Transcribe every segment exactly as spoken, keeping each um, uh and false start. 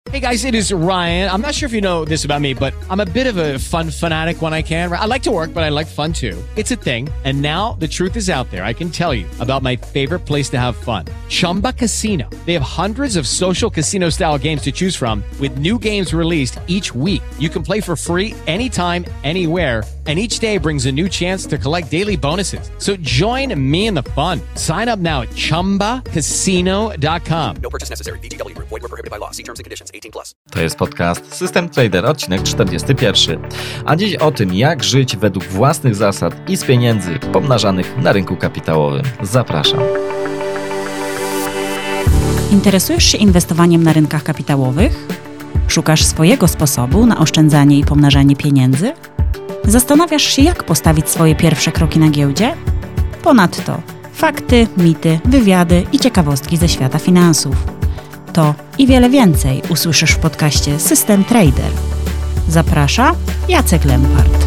Hey guys, it is Ryan. I'm not sure if you know this about me, but I'm a bit of a fun fanatic when I can. I like to work, but I like fun too. It's a thing. And now the truth is out there. I can tell you about my favorite place to have fun. Chumba Casino. They have hundreds of social casino style games to choose from with new games released each week. You can play for free anytime, anywhere. And each day brings a new chance to collect daily bonuses. So join me in the fun. Sign up now at chumba casino dot com. No purchase necessary. V G W. Void where prohibited by law. See terms and conditions. eighteen plus. To jest podcast System Trader, odcinek czterdziesty pierwszy. A dziś o tym, jak żyć według własnych zasad i z pieniędzy pomnażanych na rynku kapitałowym. Zapraszam. Interesujesz się inwestowaniem na rynkach kapitałowych? Szukasz swojego sposobu na oszczędzanie i pomnażanie pieniędzy? Zastanawiasz się, jak postawić swoje pierwsze kroki na giełdzie? Ponadto fakty, mity, wywiady i ciekawostki ze świata finansów. To i wiele więcej usłyszysz w podcaście System Trader. Zaprasza Jacek Lempart.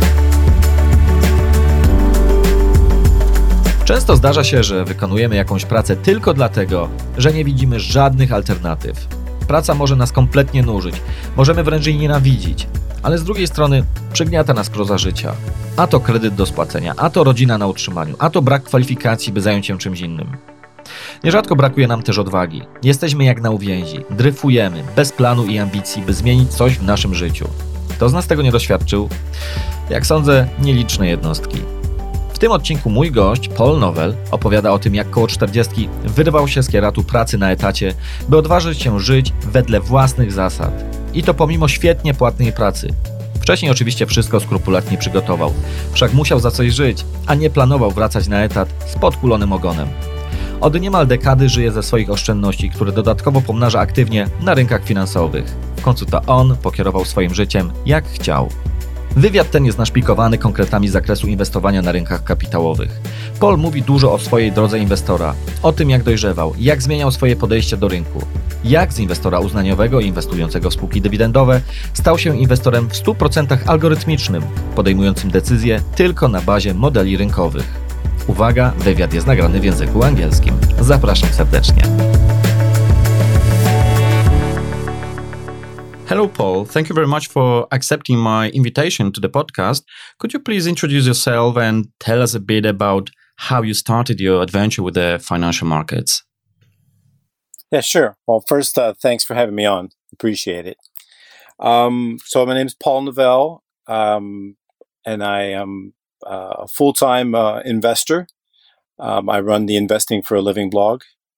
Często zdarza się, że wykonujemy jakąś pracę tylko dlatego, że nie widzimy żadnych alternatyw. Praca może nas kompletnie nużyć, możemy wręcz jej nienawidzić, ale z drugiej strony przygniata nas proza życia. A to kredyt do spłacenia, a to rodzina na utrzymaniu, a to brak kwalifikacji, by zająć się czymś innym. Nierzadko brakuje nam też odwagi. Jesteśmy jak na uwięzi, dryfujemy, bez planu i ambicji, by zmienić coś w naszym życiu. Kto z nas tego nie doświadczył? Jak sądzę, nieliczne jednostki. W tym odcinku mój gość, Paul Novell, opowiada o tym, jak koło czterdziestki wyrwał się z kieratu pracy na etacie, by odważyć się żyć wedle własnych zasad. I to pomimo świetnie płatnej pracy. Wcześniej oczywiście wszystko skrupulatnie przygotował, wszak musiał za coś żyć, a nie planował wracać na etat z podkulonym ogonem. Od niemal dekady żyje ze swoich oszczędności, które dodatkowo pomnaża aktywnie na rynkach finansowych. W końcu to on pokierował swoim życiem jak chciał. Wywiad ten jest naszpikowany konkretami z zakresu inwestowania na rynkach kapitałowych. Paul mówi dużo o swojej drodze inwestora, o tym jak dojrzewał, jak zmieniał swoje podejście do rynku, jak z inwestora uznaniowego i inwestującego w spółki dywidendowe stał się inwestorem w stu procentach algorytmicznym, podejmującym decyzje tylko na bazie modeli rynkowych. Uwaga, wywiad jest nagrany w języku angielskim. Zapraszam serdecznie. Hello, Paul. Thank you very much for accepting my invitation to the podcast. Could you please introduce yourself and tell us a bit about how you started your adventure with the financial markets? Yeah, sure. Well, first, uh, thanks for having me on. Appreciate it. Um, so my name is Paul Novell, um, and I am uh, a full-time uh, investor. Um, I run the Investing for a Living blog,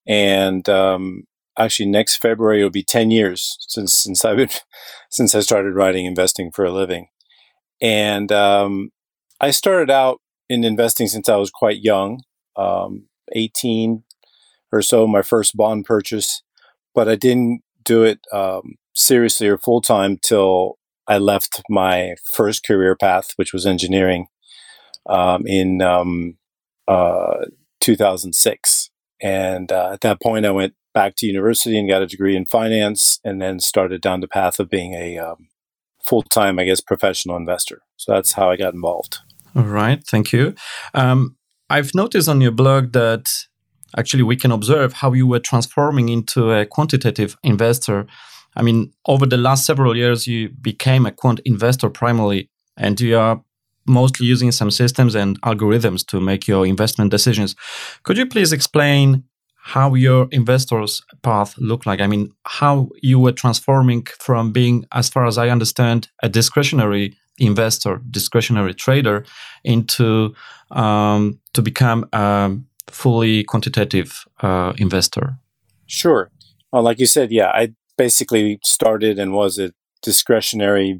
and um, actually next February it'll be ten years since since I've been since I started writing Investing for a Living. And um, I started out in investing since I was quite young, um, eighteen or so, my first bond purchase, but I didn't do it um, seriously or full time till I left my first career path, which was engineering, um, in um, uh, two thousand six. And uh, at that point, I went back to university and got a degree in finance, and then started down the path of being a um, full-time, I guess, professional investor. So that's how I got involved. All right, thank you. Um, I've noticed on your blog that actually we can observe how you were transforming into a quantitative investor. I mean, over the last several years, you became a quant investor primarily, and you are mostly using some systems and algorithms to make your investment decisions. Could you please explain how your investor's path looked like? I mean, how you were transforming from being, as far as I understand, a discretionary investor, discretionary trader, into um, to become a fully quantitative uh, investor? Sure. Well, like you said, yeah, I basically started and was a discretionary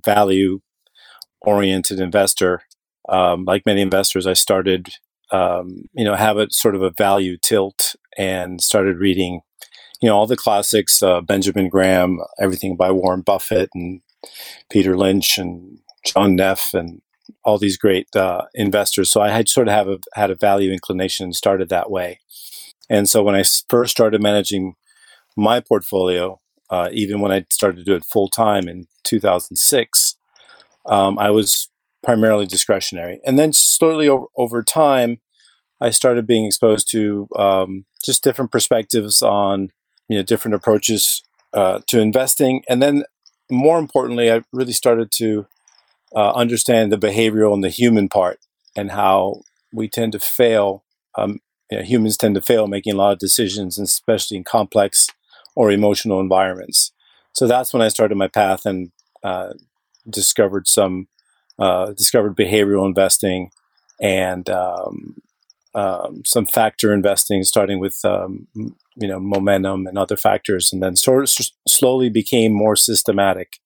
value-oriented investor. Um, like many investors, I started, um, you know, have a sort of a value tilt and started reading, you know, all the classics, uh, Benjamin Graham, everything by Warren Buffett and Peter Lynch and John Neff and all these great uh, investors. So I had sort of have a, had a value inclination and started that way. And so when I first started managing my portfolio, uh, even when I started to do it full time in two thousand six, um, I was primarily discretionary. And then slowly over, over time, I started being exposed to um, just different perspectives on, you know, different approaches uh, to investing. And then more importantly, I really started to uh, understand the behavioral and the human part and how we tend to fail. Um, you know, humans tend to fail making a lot of decisions, especially in complex or emotional environments. So that's when I started my path and uh, discovered some uh, discovered behavioral investing and um, um, some factor investing, starting with um, you know momentum and other factors, and then sort of s- slowly became more systematic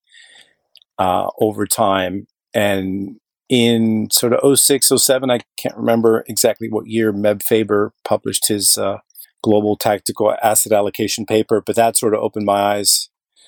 uh, over time. And in sort of oh six, oh seven, I can't remember exactly what year, Meb Faber published his uh, global tactical asset allocation paper, but that sort of opened my eyes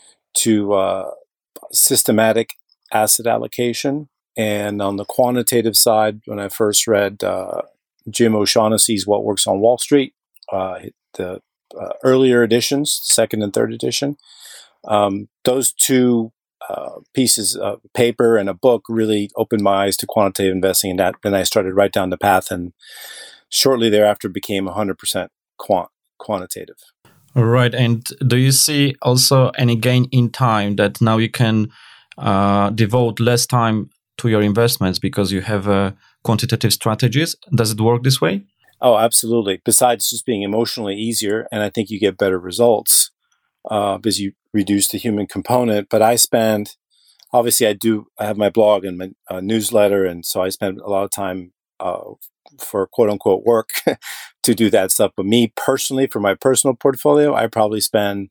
to uh, systematic asset allocation. And on the quantitative side, when I first read uh, Jim O'Shaughnessy's What Works on Wall Street, uh, the uh, earlier editions, second and third edition, um, those two uh, pieces of paper and a book really opened my eyes to quantitative investing. And that then I started right down the path, and shortly thereafter became one hundred percent quant quantitative. All right. And do you see also any gain in time that now you can uh, devote less time to your investments because you have uh, quantitative strategies? Does it work this way? Oh, absolutely. Besides just being emotionally easier, and I think you get better results uh, because you reduce the human component. But I spend, obviously, I do. I have my blog and my uh, newsletter, and so I spend a lot of time uh, for quote unquote work to do that stuff. But me personally, for my personal portfolio, I probably spend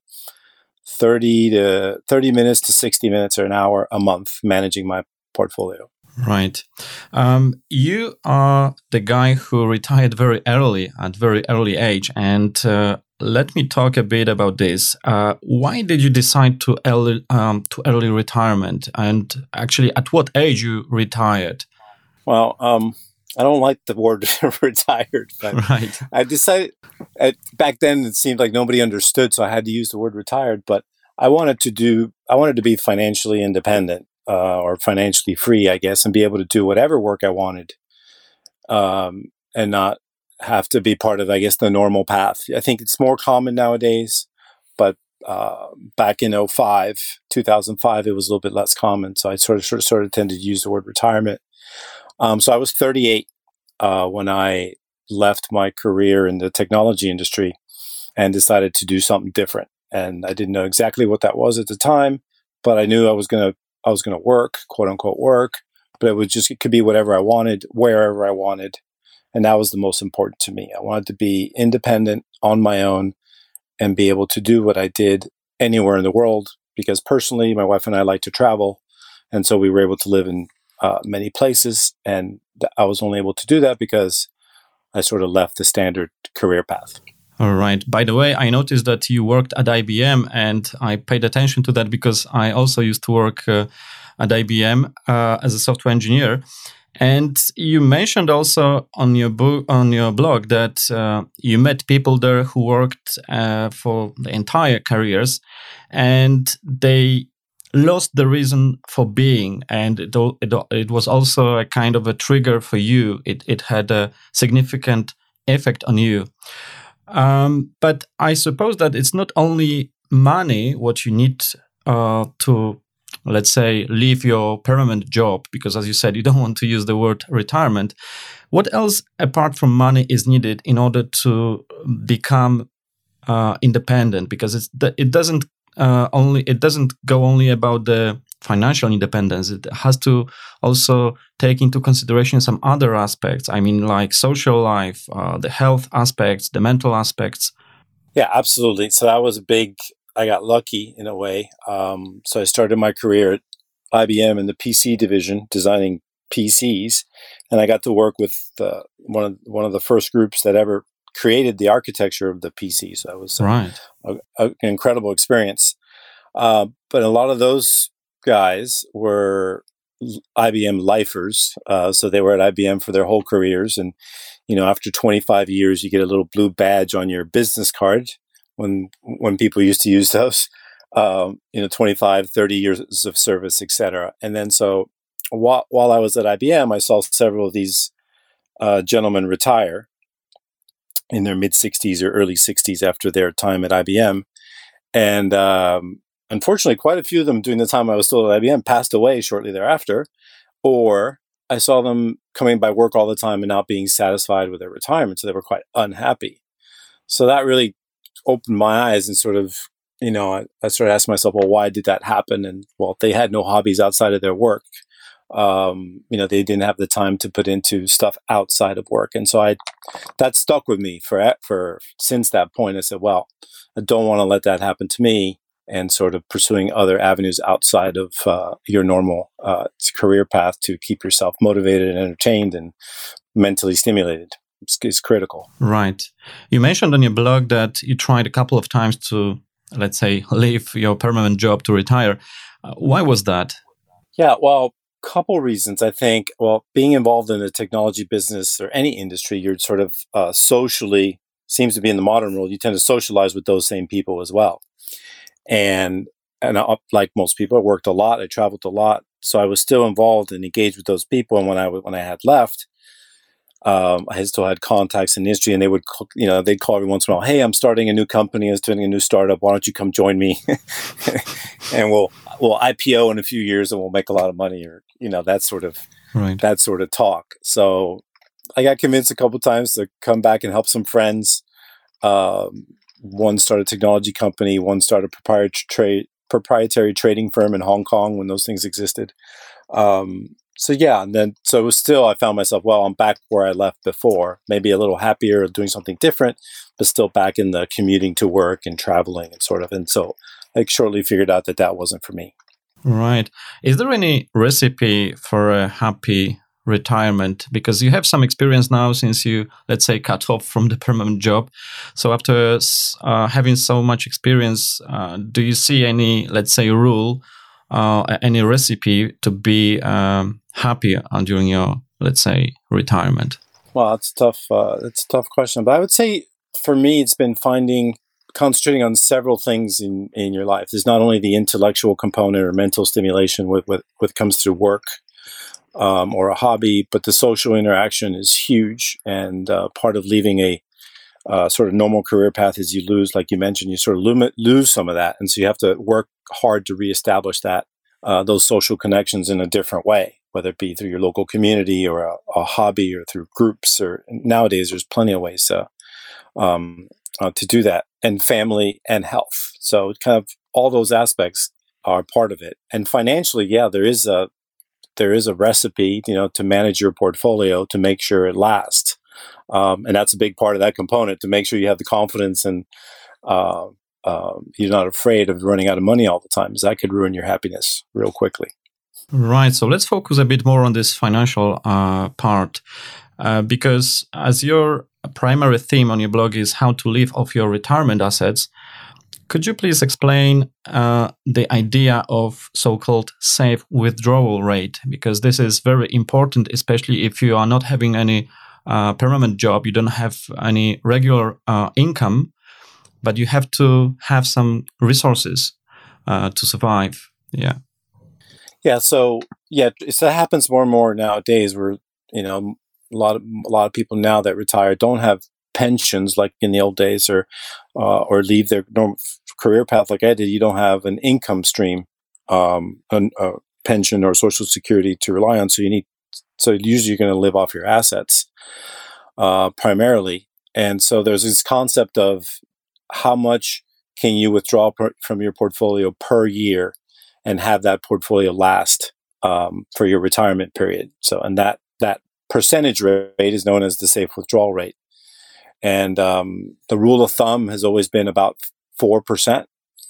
thirty to thirty minutes to sixty minutes or an hour a month managing my portfolio. Right. Um, you are the guy who retired very early, at very early age. And uh, let me talk a bit about this. Uh, why did you decide to early, um, to early retirement? And actually, at what age you retired? Well, um, I don't like the word retired, but right. I decided at, back then it seemed like nobody understood, so I had to use the word retired. But I wanted to do, I wanted to be financially independent. Uh, or financially free, I guess, and be able to do whatever work I wanted, um, and not have to be part of, I guess, the normal path. I think it's more common nowadays, but uh, back in oh five, two thousand five, it was a little bit less common. So I sort of, sort of, sort of tended to use the word retirement. Um, so I was thirty-eight uh, when I left my career in the technology industry and decided to do something different. And I didn't know exactly what that was at the time, but I knew I was going to I was going to work, quote unquote work, but it was just, it could be whatever I wanted, wherever I wanted. And that was the most important to me. I wanted to be independent on my own and be able to do what I did anywhere in the world, because personally, my wife and I like to travel. And so we were able to live in uh, many places. And th- I was only able to do that because I sort of left the standard career path. All right. By the way, I noticed that you worked at I B M, and I paid attention to that because I also used to work uh, at I B M uh, as a software engineer. And you mentioned also on your book, on your blog, that uh, you met people there who worked uh, for the entire careers, and they lost the reason for being, and it, it, it was also a kind of a trigger for you. It it had a significant effect on you. Um, but I suppose that it's not only money what you need uh, to, let's say, leave your permanent job, because as you said, you don't want to use the word retirement. What else apart from money is needed in order to become uh, independent? Because it's it doesn't uh, only it doesn't go only about the financial independence. It has to also take into consideration some other aspects. I mean, like social life, uh, the health aspects, the mental aspects. Yeah, absolutely. So that was a big, I got lucky in a way. Um, so I started my career at I B M in the P C division, designing P Cs. And I got to work with uh, one of one of the first groups that ever created the architecture of the P C. So it was right. a, a, an incredible experience. Uh, but a lot of those guys were I B M lifers. Uh, so they were at I B M for their whole careers. And, you know, after twenty-five years, you get a little blue badge on your business card when when people used to use those, um, you know, twenty-five, thirty years of service, et cetera. And then so while, while I was at I B M, I saw several of these uh, gentlemen retire in their mid-sixties or early sixties after their time at I B M. And um, unfortunately, quite a few of them during the time I was still at I B M passed away shortly thereafter, or I saw them coming by work all the time and not being satisfied with their retirement, so they were quite unhappy. So that really opened my eyes and sort of, you know, I, I started asking myself, well, why did that happen? And well, they had no hobbies outside of their work. Um, you know, they didn't have the time to put into stuff outside of work. And so I, that stuck with me for, for, since that point. I said, well, I don't want to let that happen to me, and sort of pursuing other avenues outside of uh, your normal uh, career path to keep yourself motivated and entertained and mentally stimulated is, is critical. Right. You mentioned on your blog that you tried a couple of times to, let's say, leave your permanent job to retire. Uh, why was that? Yeah, well, couple reasons. I think, well, being involved in the technology business or any industry, you're sort of uh, socially, seems to be in the modern world, you tend to socialize with those same people as well. And and I, like most people, I worked a lot, I traveled a lot, so I was still involved and engaged with those people. And when I when I had left, um, I still had contacts in the industry, and they would, you know, they'd call every once in a while, "Hey, I'm starting a new company, I was doing a new startup. Why don't you come join me? And we'll we'll I P O in a few years, and we'll make a lot of money," or you know, that sort of right. that sort of talk. So I got convinced a couple of times to come back and help some friends. Um, one started a technology company, one started a proprietary trade, proprietary trading firm in Hong Kong when those things existed. Um, so yeah, and then so it was still, I found myself, well, I'm back where I left before, maybe a little happier, doing something different, but still back in the commuting to work and traveling and sort of. And so I shortly figured out that that wasn't for me. Right. Is there any recipe for a happy retirement? Because you have some experience now since you, let's say, cut off from the permanent job. So after uh, having so much experience, uh, do you see any, let's say, rule, uh, any recipe to be um, happy during your, let's say, retirement? Well, that's tough. Uh, that's a tough question. But I would say for me, it's been finding, concentrating on several things in, in your life. There's not only the intellectual component or mental stimulation with with what comes through work, Um, or a hobby, but the social interaction is huge. And uh, part of leaving a uh, sort of normal career path is you lose, like you mentioned, you sort of lo- lose some of that. And so you have to work hard to reestablish that, uh, those social connections in a different way, whether it be through your local community or a, a hobby or through groups. Or nowadays, there's plenty of ways uh, um, uh, to do that, and family and health. So kind of all those aspects are part of it. And financially, yeah, there is a there is a recipe, you know, to manage your portfolio to make sure it lasts. Um, and that's a big part of that component, to make sure you have the confidence and uh, uh, you're not afraid of running out of money all the time, because that could ruin your happiness real quickly. Right. So let's focus a bit more on this financial uh, part, uh, because as your primary theme on your blog is how to live off your retirement assets, could you please explain uh, the idea of so-called safe withdrawal rate? Because this is very important, especially if you are not having any uh, permanent job, you don't have any regular uh, income, but you have to have some resources uh, to survive. Yeah. Yeah. So yeah, so that happens more and more nowadays. Where you know a lot of a lot of people now that retire don't have pensions like in the old days, or uh, or leave their normal career path like I did. You don't have an income stream, um, a, a pension or social security to rely on. So you need, so usually you're going to live off your assets uh, primarily. And so there's this concept of how much can you withdraw per, from your portfolio per year and have that portfolio last um, for your retirement period. So, and that that percentage rate is known as the safe withdrawal rate. And um, the rule of thumb has always been about four percent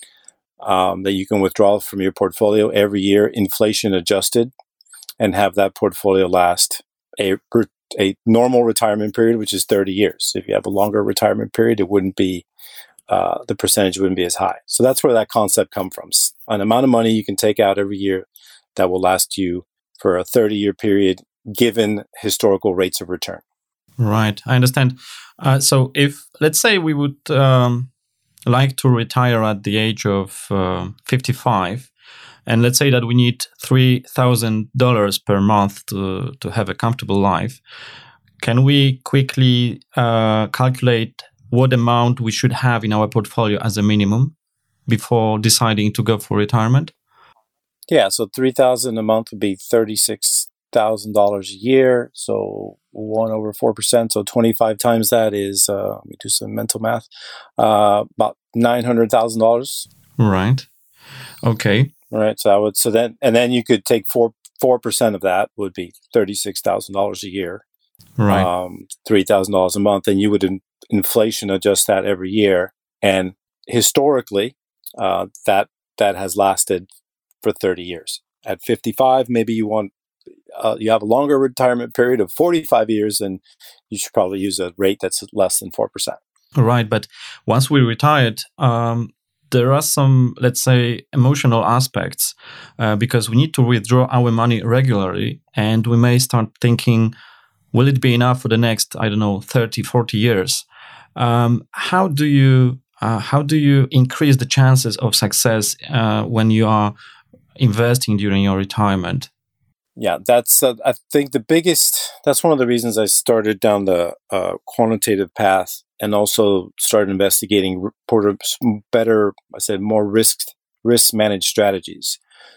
um, that you can withdraw from your portfolio every year, inflation adjusted, and have that portfolio last a, a normal retirement period, which is thirty years. If you have a longer retirement period, it wouldn't be, uh, the percentage wouldn't be as high. So that's where that concept comes from. An amount of money you can take out every year that will last you for a thirty-year period, given historical rates of return. Right, I understand. Uh, so if, let's say we would um, like to retire at the age of uh, fifty-five, and let's say that we need three thousand dollars per month to, to have a comfortable life, can we quickly uh, calculate what amount we should have in our portfolio as a minimum? before deciding to go for retirement? Yeah, so three thousand a month would be thirty-six thousand dollars a year. So one over four percent. So twenty-five times that is, uh, let me do some mental math, uh, about nine hundred thousand dollars. Right. Okay. Right. So I would, so then, and then you could take four, four percent of that would be thirty-six thousand dollars a year. Right. Um, three thousand dollars a month. And you would in, inflation adjust that every year. And historically, uh, that, that has lasted for thirty years. At fifty-five, maybe you want, uh, you have a longer retirement period of forty-five years, and you should probably use a rate that's less than four percent. Right. But once we retired, um, there are some, let's say, emotional aspects uh, because we need to withdraw our money regularly, and we may start thinking, will it be enough for the next, I don't know, thirty, forty years? Um, how do you uh, how do you increase the chances of success uh, when you are investing during your retirement? Yeah, that's, uh, I think the biggest, that's one of the reasons I started down the uh, quantitative path and also started investigating better, I said, more risk, risk managed strategies.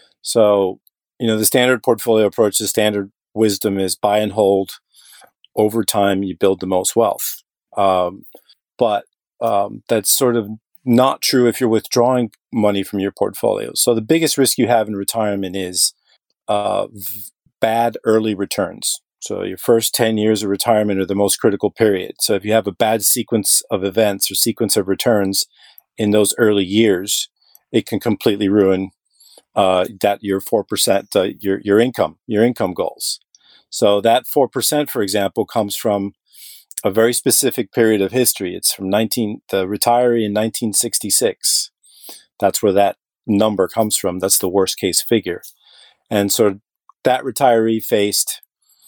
So, you know, the standard portfolio approach, the standard wisdom is buy and hold. Over time, you build the most wealth. Um, but um, that's sort of not true if you're withdrawing money from your portfolio. So the biggest risk you have in retirement is uh, v- bad early returns. So your first ten years of retirement are the most critical period. So if you have a bad sequence of events or sequence of returns in those early years, it can completely ruin uh, that your four percent, uh, your your income, your income goals. So that four percent, for example, comes from a very specific period of history. It's from nineteen the retiree in nineteen sixty-six. That's where that number comes from. That's the worst case figure. And so that retiree faced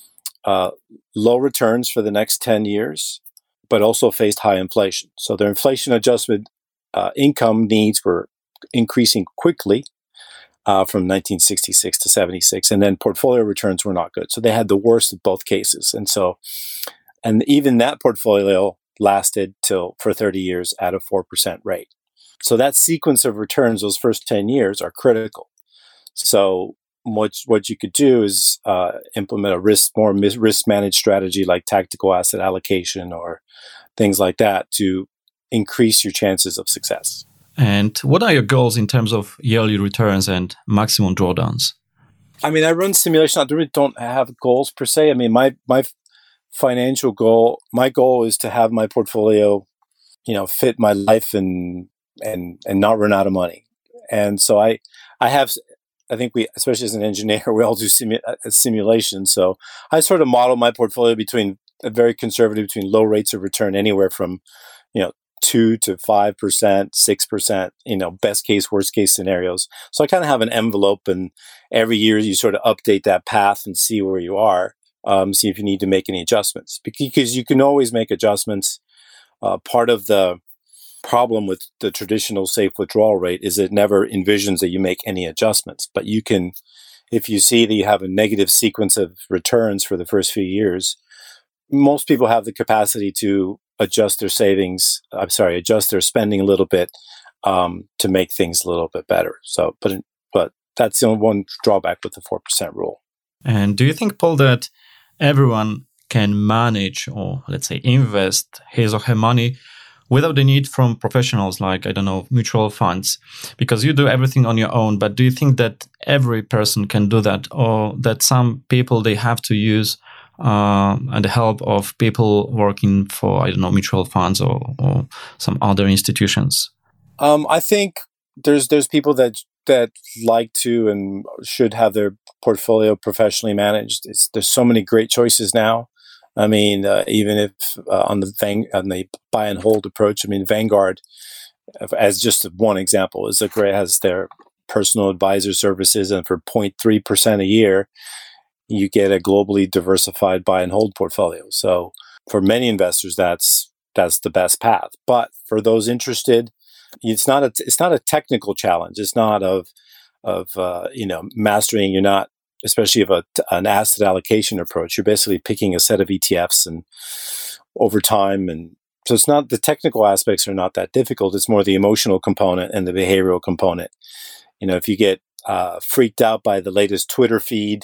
uh, low returns for the next ten years, but also faced high inflation. So their inflation adjusted uh, income needs were increasing quickly uh, from nineteen sixty-six to seventy-six, and then portfolio returns were not good. So they had the worst of both cases. And so, and even that portfolio lasted till for thirty years at a four percent rate. So that sequence of returns, those first ten years, are critical. So what what you could do is uh, implement a risk more risk managed strategy like tactical asset allocation or things like that to increase your chances of success. And what are your goals in terms of yearly returns and maximum drawdowns? I mean, I run simulation. I really don't have goals per se. I mean, my my financial goal, my goal is to have my portfolio, you know, fit my life and and and not run out of money. And so I I have. I think we, especially as an engineer, we all do simu- simulation. So I sort of model my portfolio between a very conservative, between low rates of return, anywhere from, you know, two to five percent, six percent, you know, best case, worst case scenarios. So I kind of have an envelope, and every year you sort of update that path and see where you are, um, see if you need to make any adjustments, because you can always make adjustments. Uh, part of the problem with the traditional safe withdrawal rate is it never envisions that you make any adjustments. But you can, if you see that you have a negative sequence of returns for the first few years, most people have the capacity to adjust their savings, I'm sorry, adjust their spending a little bit um, to make things a little bit better. So, but but that's the only one drawback with the four percent rule. And do you think, Paul, that everyone can manage or, let's say, invest his or her money without the need from professionals like, I don't know, mutual funds? Because you do everything on your own, but do you think that every person can do that, or that some people, they have to use uh, the help of people working for, I don't know, mutual funds or, or some other institutions? Um, I think there's there's people that that like to and should have their portfolio professionally managed. It's, there's so many great choices now. I mean, uh, even if uh, on the Vang- on the buy and hold approach, I mean, Vanguard, as just one example, is a great, has their personal advisor services, and for zero point three percent a year, you get a globally diversified buy and hold portfolio. So for many investors, that's that's the best path. But for those interested, it's not a it's not a technical challenge. It's not of of uh, you know mastering. You're not. Especially of a, an asset allocation approach, you're basically picking a set of E T Fs and over time and so it's not, the technical aspects are not that difficult. It's more the emotional component and the behavioral component. You know, if you get uh, freaked out by the latest Twitter feed,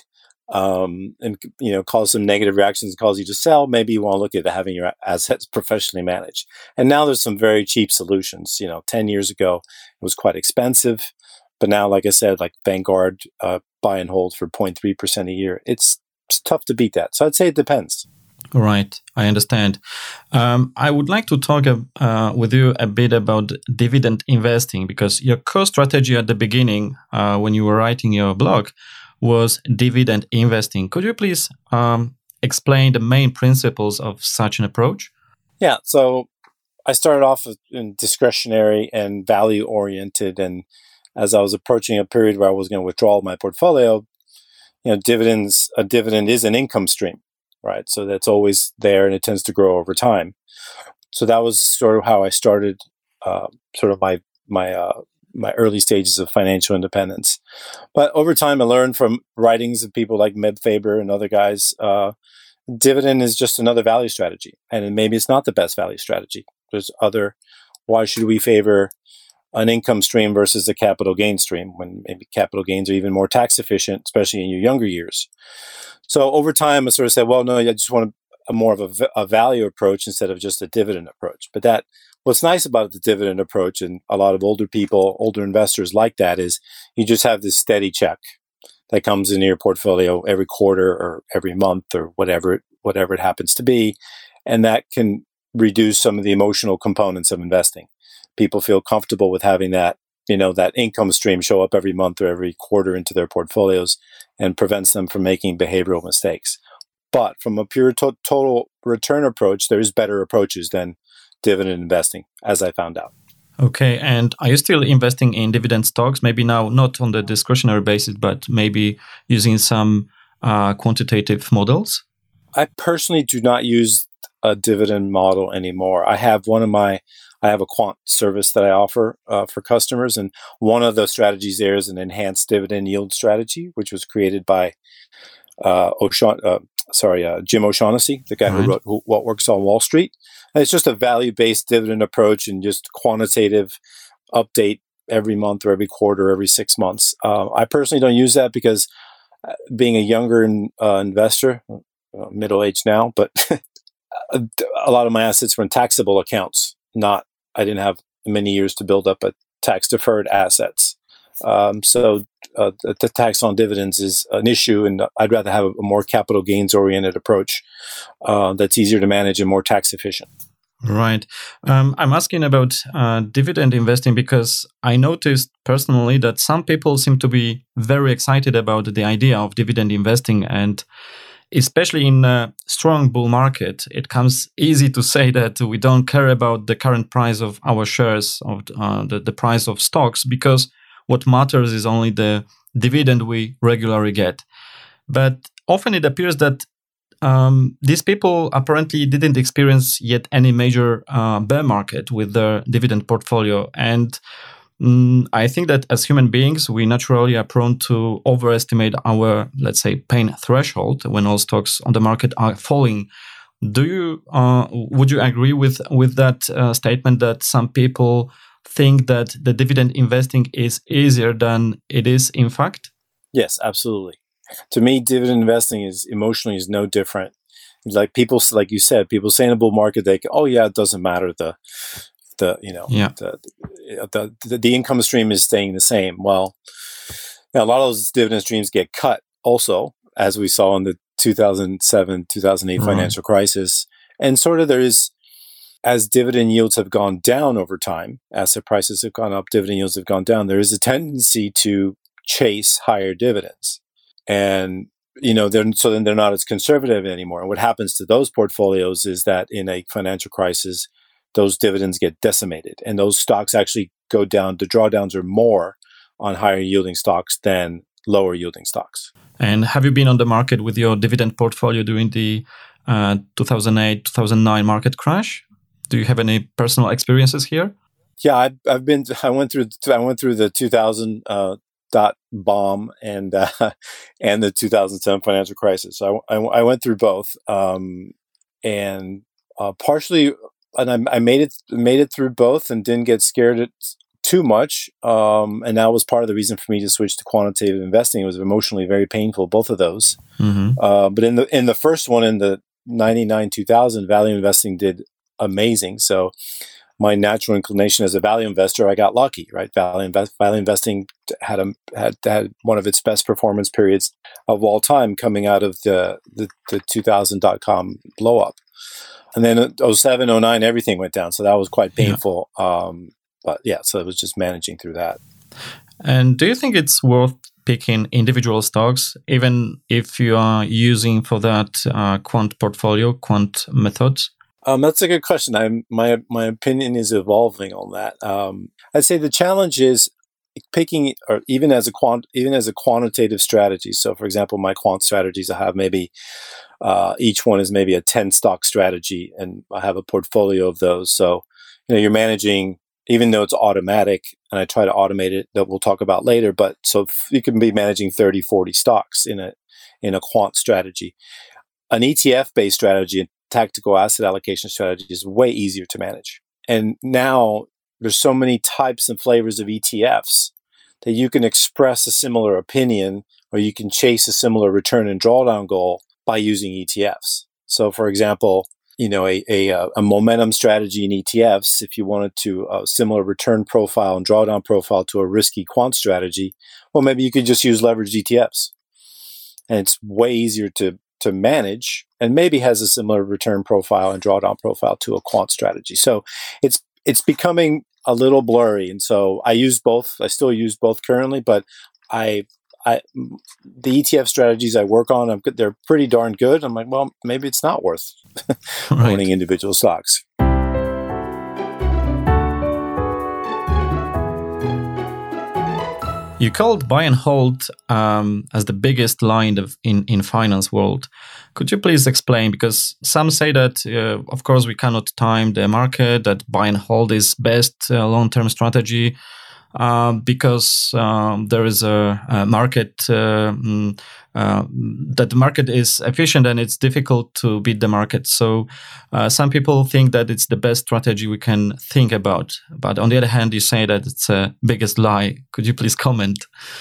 um, and, you know, cause some negative reactions and cause you to sell, maybe you want to look at having your assets professionally managed. And now there's some very cheap solutions. You know, ten years ago, it was quite expensive. But now, like I said, like Vanguard, uh, buy and hold for zero point three percent a year. It's, it's tough to beat that. So I'd say it depends. Right, I understand. Um, I would like to talk uh, with you a bit about dividend investing, because your core strategy at the beginning, uh, when you were writing your blog, was dividend investing. Could you please um, explain the main principles of such an approach? Yeah, so I started off in discretionary and value oriented, and as I was approaching a period where I was going to withdraw my portfolio, you know, dividends, a dividend is an income stream, right? So that's always there, and it tends to grow over time. So that was sort of how I started, uh, sort of my my uh, my early stages of financial independence. But over time, I learned from writings of people like Meb Faber and other guys, uh, dividend is just another value strategy, and maybe it's not the best value strategy. There's other. Why should we favor an income stream versus a capital gain stream when maybe capital gains are even more tax efficient, especially in your younger years? So over time, I sort of said, well, no, I just want a, a more of a, a value approach instead of just a dividend approach. But that, what's nice about the dividend approach, and a lot of older people, older investors like that, is you just have this steady check that comes into your portfolio every quarter or every month or whatever it, whatever it happens to be. And that can reduce some of the emotional components of investing. People feel comfortable with having that, you know, that income stream show up every month or every quarter into their portfolios, and prevents them from making behavioral mistakes. But from a pure to- total return approach, there's better approaches than dividend investing, as I found out. Okay, and are you still investing in dividend stocks? Maybe now not on the discretionary basis, but maybe using some uh, quantitative models? I personally do not use a dividend model anymore. I have one of my, I have a quant service that I offer uh, for customers, and one of the strategies there is an enhanced dividend yield strategy, which was created by uh, O'Shaugh- uh, sorry, uh, Jim O'Shaughnessy, the guy right. who wrote who, What Works on Wall Street. And it's just a value-based dividend approach and just quantitative update every month or every quarter, every six months. Uh, I personally don't use that because uh, being a younger uh, investor, uh, middle-aged now, but a lot of my assets were in taxable accounts. Not, I didn't have many years to build up a tax-deferred assets. Um, so uh, the, the tax on dividends is an issue, and I'd rather have a, a more capital gains-oriented approach uh, that's easier to manage and more tax-efficient. Right. Um, I'm asking about uh, dividend investing because I noticed personally that some people seem to be very excited about the idea of dividend investing, and especially in a strong bull market, it comes easy to say that we don't care about the current price of our shares, of uh, the, the price of stocks, because what matters is only the dividend we regularly get. But often it appears that um, these people apparently didn't experience yet any major uh, bear market with their dividend portfolio. And mm, I think that as human beings, we naturally are prone to overestimate our, let's say, pain threshold when all stocks on the market are falling. Do you, uh, would you agree with, with that uh, statement that some people think that the dividend investing is easier than it is in fact? Yes, absolutely. To me, dividend investing is emotionally is no different. Like people, like you said, people say in a bull market, they go, oh yeah, it doesn't matter. The, the, you know, yeah. the, the, the, the income stream is staying the same. Well, you know, a lot of those dividend streams get cut also, as we saw in the two thousand seven, two thousand eight right. financial crisis. And sort of there is, as dividend yields have gone down over time, asset prices have gone up, dividend yields have gone down, there is a tendency to chase higher dividends. And, you know, they're, so then they're not as conservative anymore. And what happens to those portfolios is that in a financial crisis, those dividends get decimated. And those stocks actually go down. The drawdowns are more on higher yielding stocks than lower yielding stocks. And have you been on the market with your dividend portfolio during the uh, two thousand eight, two thousand nine market crash? Do you have any personal experiences here? Yeah, I've, I've been. I went through. I went through the two thousand uh, dot bomb and uh, and the two thousand seven financial crisis. So I, I, I went through both, um, and uh, partially and I, I made it made it through both and didn't get scared at, too much. Um, and that was part of the reason for me to switch to quantitative investing. It was emotionally very painful, both of those. Mm-hmm. Uh, but in the in the first one, in the ninety-nine two thousand, value investing did amazing. So my natural inclination as a value investor, I got lucky, right? Value, invest, value investing had a had had one of its best performance periods of all time coming out of the the, the two thousand dot-com blow up. And then oh seven, oh nine, everything went down. So that was quite painful. Yeah. Um, but yeah, so it was just managing through that. And do you think it's worth picking individual stocks, even if you are using for that uh, quant portfolio, quant methods? Um, that's a good question. I'm, my my opinion is evolving on that. Um, I'd say the challenge is picking, or even as a quant, even as a quantitative strategy. So, for example, my quant strategies, I have maybe uh, each one is maybe a ten stock strategy, and I have a portfolio of those. So, you know, you're managing, even though it's automatic, and I try to automate it, that we'll talk about later. But so you can be managing thirty, forty stocks in a in a quant strategy. An E T F-based strategy, tactical asset allocation strategy, is way easier to manage. And now there's so many types and flavors of E T Fs that you can express a similar opinion, or you can chase a similar return and drawdown goal by using E T Fs. So, for example, you know, a, a, a momentum strategy in E T Fs, if you wanted to a similar return profile and drawdown profile to a risky quant strategy, well, maybe you could just use leveraged E T Fs. And it's way easier to to manage, and maybe has a similar return profile and drawdown profile to a quant strategy. So it's it's becoming a little blurry. And so I use both. I still use both currently, but I I the E T F strategies I work on, I'm, they're pretty darn good. I'm like, well, maybe it's not worth right. owning individual stocks. You called buy and hold um, as the biggest line of in, in finance world. Could you please explain? Because some say that, uh, of course, we cannot time the market, that buy and hold is best uh, long-term strategy uh, because um, there is a, a market, uh, uh, that the market is efficient and it's difficult to beat the market. So uh, some people think that it's the best strategy we can think about. But on the other hand, you say that it's a biggest lie. Could you please comment?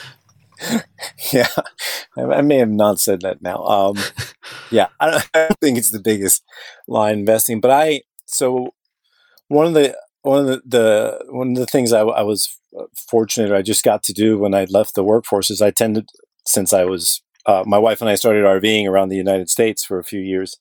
Yeah, I may have not said that now. Um, yeah, I don't, I don't think it's the biggest lie in investing. But I, so one of the, one of the, the one of the things I, I was fortunate, or I just got to do when I left the workforce, is I tended, since I was, uh, my wife and I started RVing around the United States for a few years.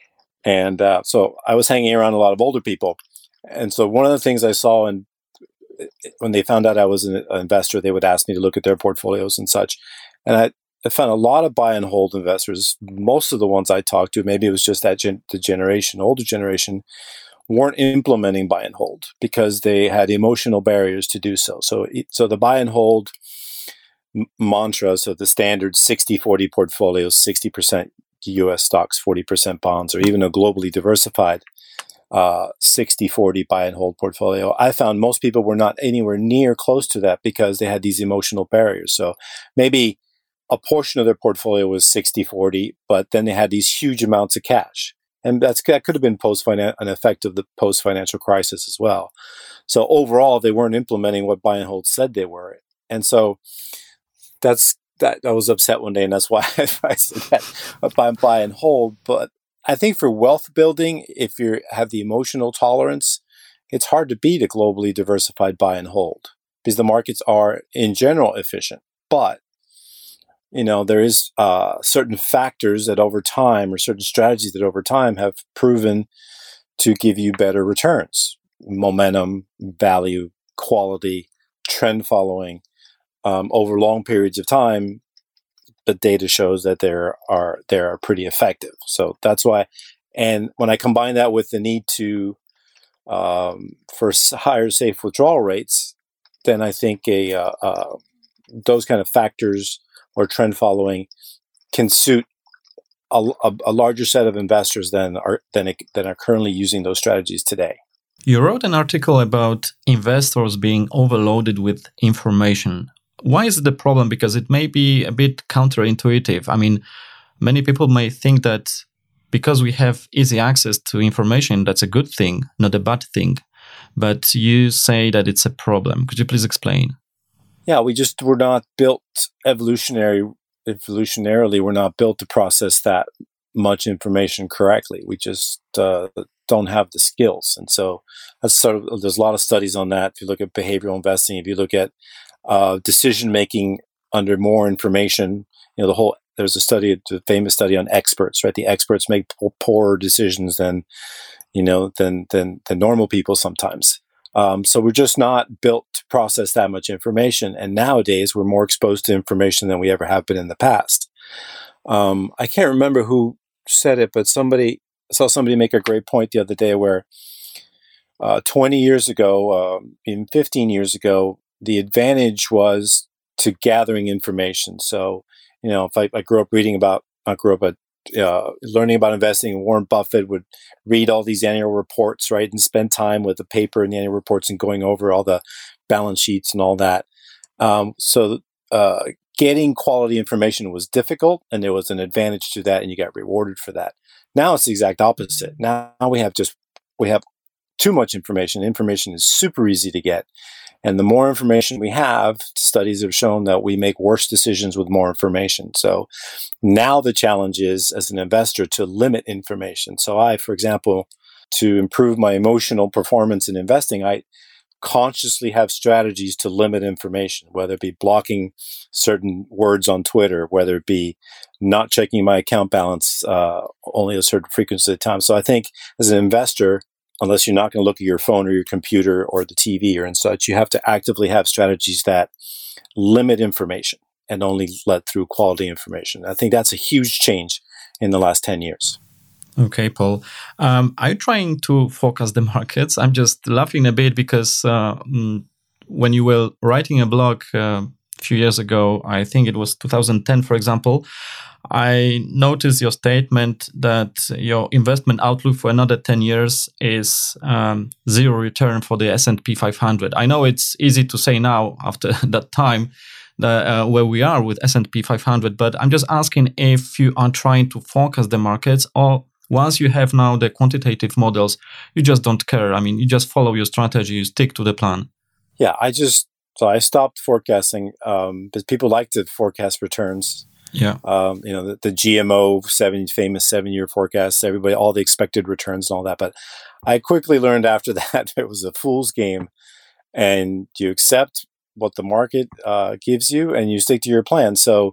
And uh, so I was hanging around a lot of older people. And so one of the things I saw, in, when they found out I was an investor, they would ask me to look at their portfolios and such. And I, I found a lot of buy and hold investors. Most of the ones I talked to, maybe it was just that gen- the generation, older generation, weren't implementing buy and hold because they had emotional barriers to do so. So, so the buy and hold m- mantra, so the standard sixty forty portfolios, sixty percent U S stocks, forty percent bonds, or even a globally diversified uh, sixty forty buy and hold portfolio, I found most people were not anywhere near close to that because they had these emotional barriers. So maybe a portion of their portfolio was sixty forty, but then they had these huge amounts of cash. And that's, that could have been post an effect of the post-financial crisis as well. So overall, they weren't implementing what buy and hold said they were. And so that's that. I was upset one day, and that's why I said that buy, buy and hold. But I think for wealth building, if you have the emotional tolerance, it's hard to beat a globally diversified buy and hold because the markets are, in general, efficient. But you know, there is uh, certain factors that over time, or certain strategies that over time have proven to give you better returns. Momentum, value, quality, trend following. Um, over long periods of time, the data shows that they are they are pretty effective. So that's why. And when I combine that with the need to um, for higher safe withdrawal rates, then I think a uh, uh, those kind of factors or trend following can suit a, a, a larger set of investors than are than, than are currently using those strategies today. You wrote an article about investors being overloaded with information. Why is it the problem? Because it may be a bit counterintuitive. I mean, many people may think that because we have easy access to information, that's a good thing, not a bad thing. But you say that it's a problem. Could you please explain? Yeah, we just were not built evolutionary evolutionarily. We're not built to process that much information correctly. We just uh, don't have the skills, and so that's sort of, there's a lot of studies on that. If you look at behavioral investing, if you look at uh, decision making under more information, you know, the whole there's a study, a famous study on experts, right? The experts make po- poorer decisions than you know than than than normal people sometimes. Um, so we're just not built to process that much information. And nowadays, we're more exposed to information than we ever have been in the past. Um, I can't remember who said it, but somebody I saw somebody make a great point the other day where uh, twenty years ago, uh, even fifteen years ago, the advantage was to gathering information. So, you know, if I, I grew up reading about, not grew up, but Uh, learning about investing, Warren Buffett would read all these annual reports, right, and spend time with the paper and the annual reports and going over all the balance sheets and all that. Um, so uh, getting quality information was difficult, and there was an advantage to that, and you got rewarded for that. Now it's the exact opposite. Now we have just we have too much information. Information is super easy to get. And the more information we have, studies have shown that we make worse decisions with more information. So now the challenge is, as an investor, to limit information. So I, for example, to improve my emotional performance in investing, I consciously have strategies to limit information, whether it be blocking certain words on Twitter, whether it be not checking my account balance uh, only a certain frequency at a time. So I think as an investor, unless you're not going to look at your phone or your computer or the T V or and such, you have to actively have strategies that limit information and only let through quality information. I think that's a huge change in the last ten years. Okay, Paul. Um, are you trying to focus the markets? I'm just laughing a bit because uh, when you were writing a blog uh, a few years ago, I think it was two thousand ten, for example, I noticed your statement that your investment outlook for another ten years is um, zero return for the S and P five hundred. I know it's easy to say now after that time that, uh, where we are with S and P five hundred, but I'm just asking if you are trying to focus the markets, or once you have now the quantitative models, you just don't care. I mean, you just follow your strategy, you stick to the plan. Yeah, I just, so I stopped forecasting um, because people like to forecast returns. Yeah. Um, you know, the, the G M O seven famous seven-year forecasts, everybody, all the expected returns and all that. But I quickly learned after that it was a fool's game, and you accept what the market uh, gives you and you stick to your plan. So,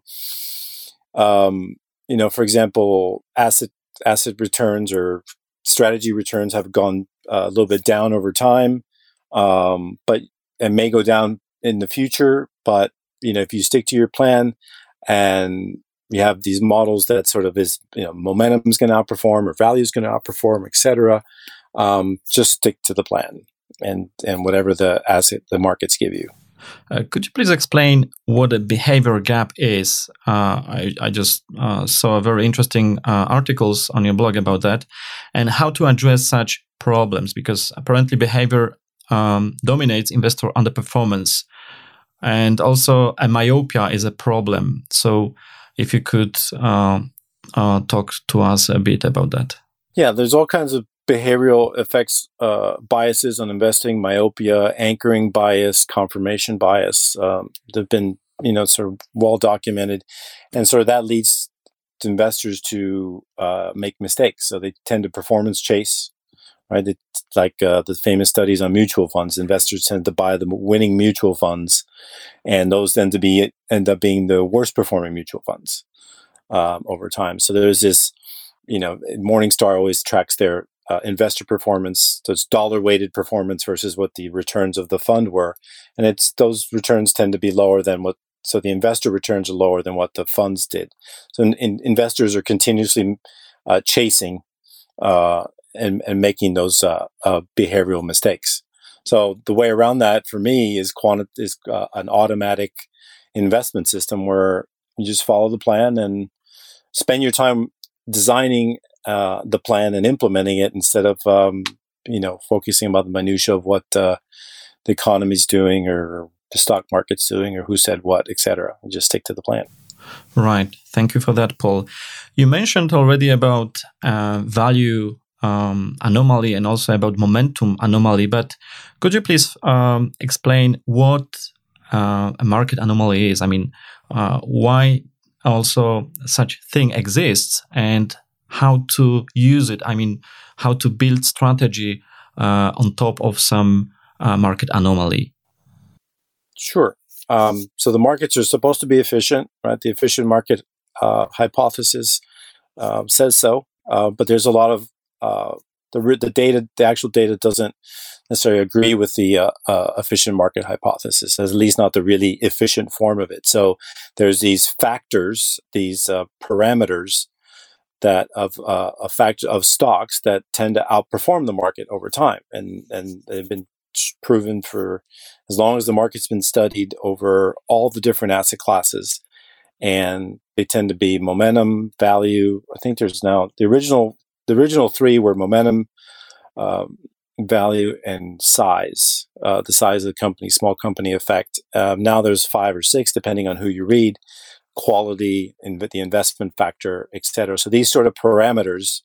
um, you know, for example, asset asset returns or strategy returns have gone uh, a little bit down over time, um, but it may go down in the future. But, you know, if you stick to your plan, and you have these models that sort of is, you know, momentum is going to outperform or value is going to outperform, et cetera. Um, just stick to the plan and and whatever the asset the markets give you. Uh, could you please explain what a behavior gap is? Uh, I, I just uh, saw very interesting uh, articles on your blog about that, and how to address such problems, because apparently behavior um, dominates investor underperformance. And also, a myopia is a problem. So, if you could uh, uh, talk to us a bit about that. Yeah, there's all kinds of behavioral effects, uh, biases on investing, myopia, anchoring bias, confirmation bias. Um, they've been, you know, sort of well documented, and sort of that leads to investors to uh, make mistakes. So they tend to performance chase. Right, it's like uh, the famous studies on mutual funds. Investors tend to buy the winning mutual funds, and those tend to be end up being the worst performing mutual funds um, over time. So there's this, you know, Morningstar always tracks their uh, investor performance, so it's dollar weighted performance versus what the returns of the fund were, and it's those returns tend to be lower than what. So the investor returns are lower than what the funds did. So in, in, investors are continuously uh, chasing. Uh, And, and making those uh, uh, behavioral mistakes. So the way around that for me is quanti- is uh, an automatic investment system where you just follow the plan and spend your time designing uh, the plan and implementing it instead of um, you know focusing about the minutia of what uh, the economy's doing or the stock market's doing or who said what, et cetera. Just stick to the plan. Right. Thank you for that, Paul. You mentioned already about uh, value um, anomaly and also about momentum anomaly, but could you please um, explain what uh, a market anomaly is? I mean, uh, why also such thing exists and how to use it? I mean, how to build strategy uh, on top of some uh, market anomaly? Sure. Um, so the markets are supposed to be efficient, right? The efficient market uh, hypothesis uh, says so, uh, but there's a lot of uh, the the data, the actual data doesn't necessarily agree with the uh, uh, efficient market hypothesis, at least not the really efficient form of it. So there's these factors, these uh, parameters that of uh, a factor of stocks that tend to outperform the market over time, and and they've been proven for as long as the market's been studied over all the different asset classes, and they tend to be momentum, value. I think there's now the original the original three were momentum, um, value, and size. Uh, the size of the company, small company effect. Um, now there's five or six, depending on who you read. Quality, and the investment factor, et cetera. So these sort of parameters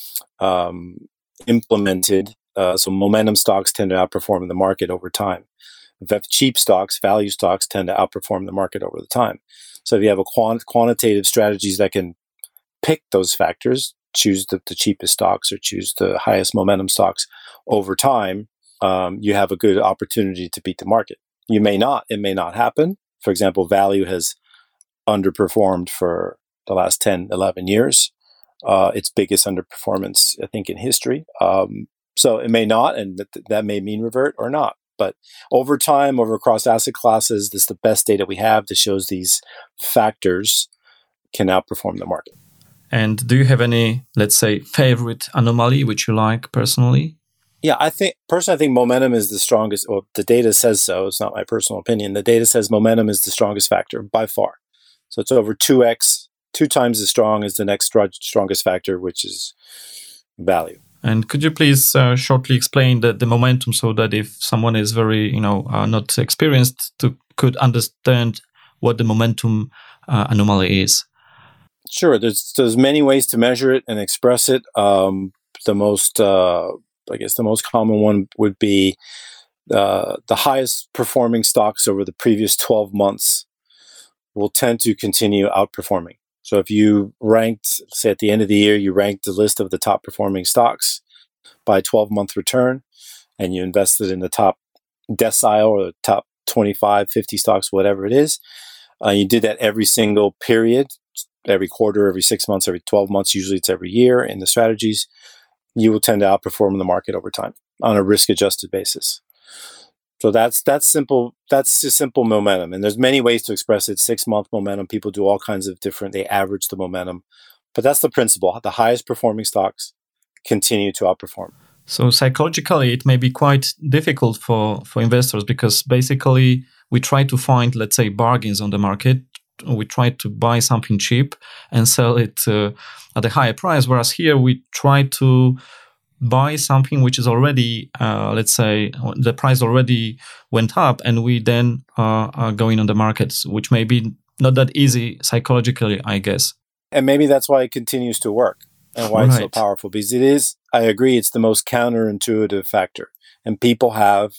um, implemented. Uh, so momentum stocks tend to outperform the market over time. If you have cheap stocks, value stocks tend to outperform the market over the time. So if you have a quant- quantitative strategies that can pick those factors, choose the, the cheapest stocks or choose the highest momentum stocks over time, um, you have a good opportunity to beat the market. You may not. It may not happen. For example, value has underperformed for the last ten, eleven years. Uh, its biggest underperformance, I think, in history. Um, so it may not, and that, that may mean revert or not. But over time, over across asset classes, this is the best data we have that shows these factors can outperform the market. And do you have any, let's say, favorite anomaly which you like personally? Yeah, I think personally, I think momentum is the strongest. Well, the data says so. It's not my personal opinion. The data says momentum is the strongest factor by far. So it's over two x, two times as strong as the next strongest factor, which is value. And could you please uh, shortly explain the, the momentum so that if someone is very, you know, uh, not experienced, to could understand what the momentum uh, anomaly is? Sure. There's there's many ways to measure it and express it. Um, the most, uh, I guess, the most common one would be uh, the highest performing stocks over the previous twelve months will tend to continue outperforming. So if you ranked, say at the end of the year, you ranked the list of the top performing stocks by twelve-month return, and you invested in the top decile or the top twenty-five, fifty stocks, whatever it is, uh, you did that every single period, every quarter, every six months, every twelve months, usually it's every year in the strategies, you will tend to outperform the market over time on a risk-adjusted basis. So that's that's simple. That's a simple momentum, and there's many ways to express it. Six-month momentum. People do all kinds of different. They average the momentum, but that's the principle. The highest performing stocks continue to outperform. So psychologically, it may be quite difficult for for investors because basically we try to find, let's say, bargains on the market. We try to buy something cheap and sell it uh, at a higher price, whereas here we try to buy something which is already, uh, let's say, the price already went up, and we then uh, are going on the markets, which may be not that easy psychologically, I guess. And maybe that's why it continues to work and why Right. it's so powerful, because it is, I agree, it's the most counterintuitive factor. And people have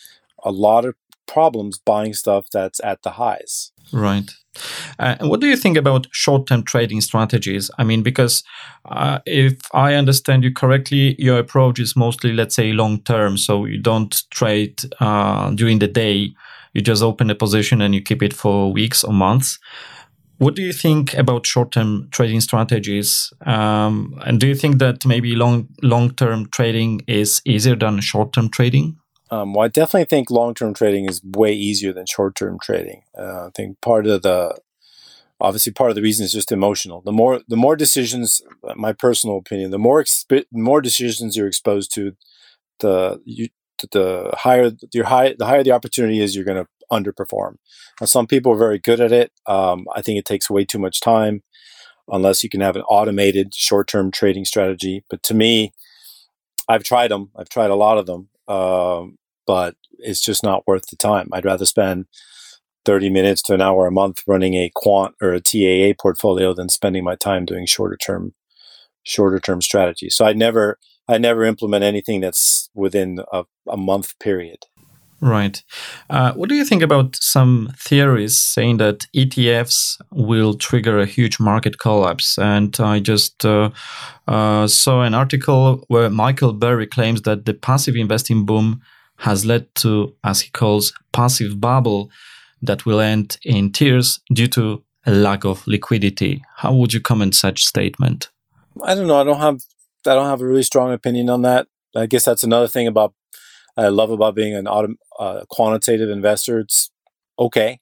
a lot of problems buying stuff that's at the highs. Right. Uh, and what do you think about short-term trading strategies? I mean, because uh, if I understand you correctly, your approach is mostly, let's say, long-term. So you don't trade uh, during the day. You just open a position and you keep it for weeks or months. What do you think about short-term trading strategies? Um, and do you think that maybe long long-term trading is easier than short-term trading? Um, well, I definitely think long-term trading is way easier than short-term trading. Uh, I think part of the, obviously, part of the reason is just emotional. The more, the more decisions, my personal opinion, the more exp- more decisions you're exposed to, the you, the higher your high, the higher the opportunity is you're going to underperform. Now, some people are very good at it. Um, I think it takes way too much time, unless you can have an automated short-term trading strategy. But to me, I've tried them. I've tried a lot of them. Um, but it's just not worth the time. I'd rather spend thirty minutes to an hour a month running a quant or a T A A portfolio than spending my time doing shorter term, shorter term strategies. So I never, I never implement anything that's within a, a month period. Right. Uh, what do you think about some theories saying that E T Fs will trigger a huge market collapse? And I just uh, uh, saw an article where Michael Burry claims that the passive investing boom has led to, as he calls, passive bubble that will end in tears due to a lack of liquidity. How would you comment such statement? I don't know. I don't have. I don't have a really strong opinion on that. I guess that's another thing about I love about being an autom- uh, quantitative investor. It's okay.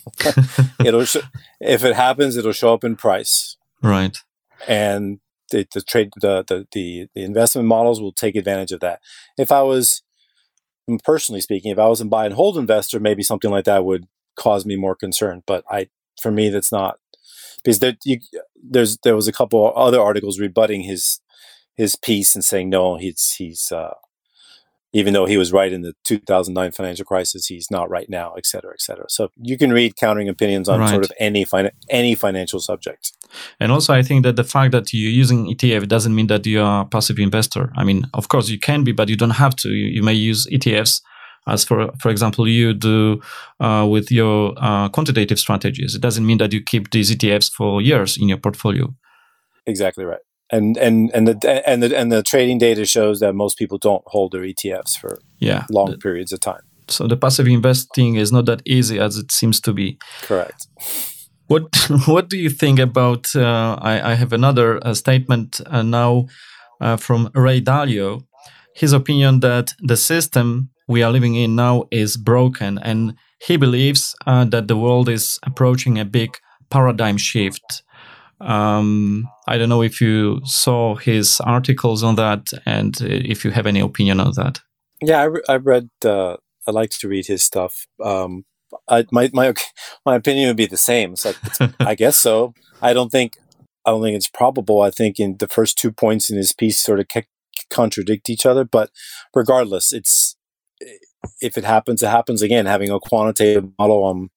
it'll sh- if it happens, it'll show up in price. Right. And the, the trade, the, the the the investment models will take advantage of that. If I was, personally speaking, if I was a buy and hold investor, maybe something like that would cause me more concern. But I, for me, that's not, because there, you, there's there was a couple other articles rebutting his his piece and saying no, he's he's. Uh, Even though he was right in the two thousand nine financial crisis, he's not right now, et cetera, et cetera. So you can read countering opinions on right. sort of any fin- any financial subject. And also, I think that the fact that you're using E T F doesn't mean that you are a passive investor. I mean, of course, you can be, but you don't have to. You, you may use E T Fs as, for for example, you do uh, with your uh, quantitative strategies. It doesn't mean that you keep these E T Fs for years in your portfolio. Exactly right. And and and the and the and the trading data shows that most people don't hold their E T Fs for yeah, long the, periods of time. So the passive investing is not that easy as it seems to be. Correct. What What do you think about? Uh, I, I have another uh, statement uh, now uh, from Ray Dalio. His opinion that the system we are living in now is broken, and he believes uh, that the world is approaching a big paradigm shift. Um, I don't know if you saw his articles on that, and if you have any opinion on that. Yeah, I, re- I read. Uh, I like to read his stuff. Um, I, my my my opinion would be the same. So I guess so. I don't think I don't think it's probable. I think in the first two points in his piece sort of ca- contradict each other. But regardless, it's if it happens, it happens. Again, having a quantitative model, um,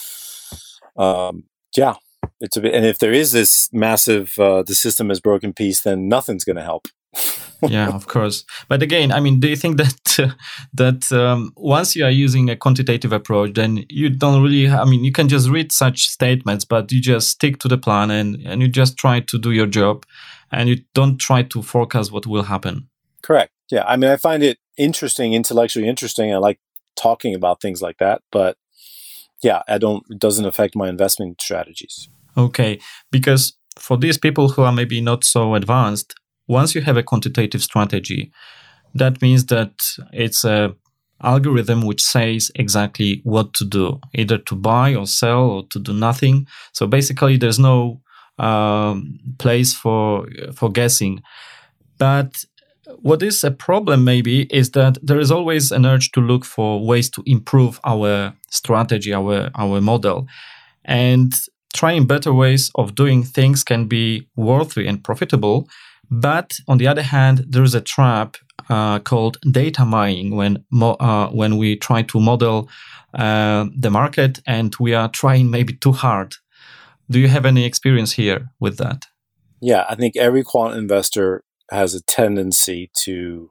um, yeah. It's a bit, and if there is this massive, uh, the system is broken piece, then nothing's going to help. Yeah, of course. But again, I mean, do you think that uh, that um, once you are using a quantitative approach, then you don't really, I mean, you can just read such statements, but you just stick to the plan and, and you just try to do your job and you don't try to forecast what will happen. Correct. Yeah. I mean, I find it interesting, intellectually interesting. I like talking about things like that, but yeah, I don't, it doesn't affect my investment strategies. Okay. Because for these people who are maybe not so advanced, once you have a quantitative strategy, that means that it's a algorithm which says exactly what to do, either to buy or sell or to do nothing. So basically, there's no um, place for for guessing. But what is a problem maybe is that there is always an urge to look for ways to improve our strategy, our our model, and trying better ways of doing things can be worthy and profitable. But on the other hand, there is a trap uh, called data mining when mo- uh, when we try to model uh, the market and we are trying maybe too hard. Do you have any experience here with that? Yeah, I think every quant investor has a tendency to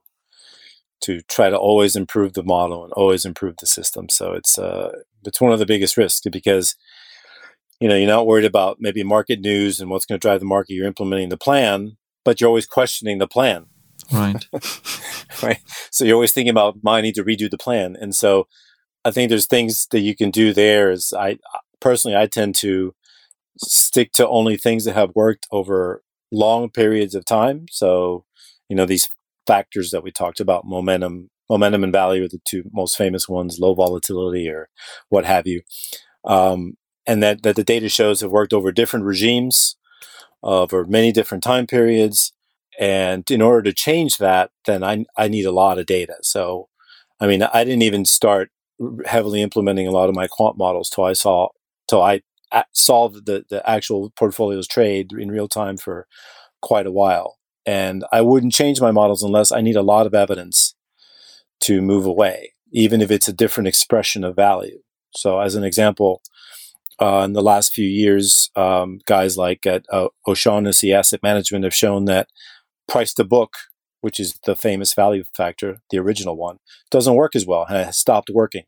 to try to always improve the model and always improve the system. So it's uh, it's one of the biggest risks because you know you're not worried about maybe market news and what's going to drive the market. You're implementing the plan, but you're always questioning the plan. Right. Right. So you're always thinking about, I need to redo the plan. And so I think there's things that you can do there is I personally, I tend to stick to only things that have worked over long periods of time. So, you know, these factors that we talked about, momentum, momentum and value are the two most famous ones, low volatility or what have you. Um, and that, that the data shows have worked over different regimes, over many different time periods. And in order to change that, then I I need a lot of data. So, I mean, I didn't even start heavily implementing a lot of my quant models till I saw, till I saw the, the actual portfolios trade in real time for quite a while. And I wouldn't change my models unless I need a lot of evidence to move away, even if it's a different expression of value. So as an example, uh, in the last few years, um, guys like at uh, O'Shaughnessy Asset Management have shown that price to book, which is the famous value factor, the original one, doesn't work as well and it has stopped working.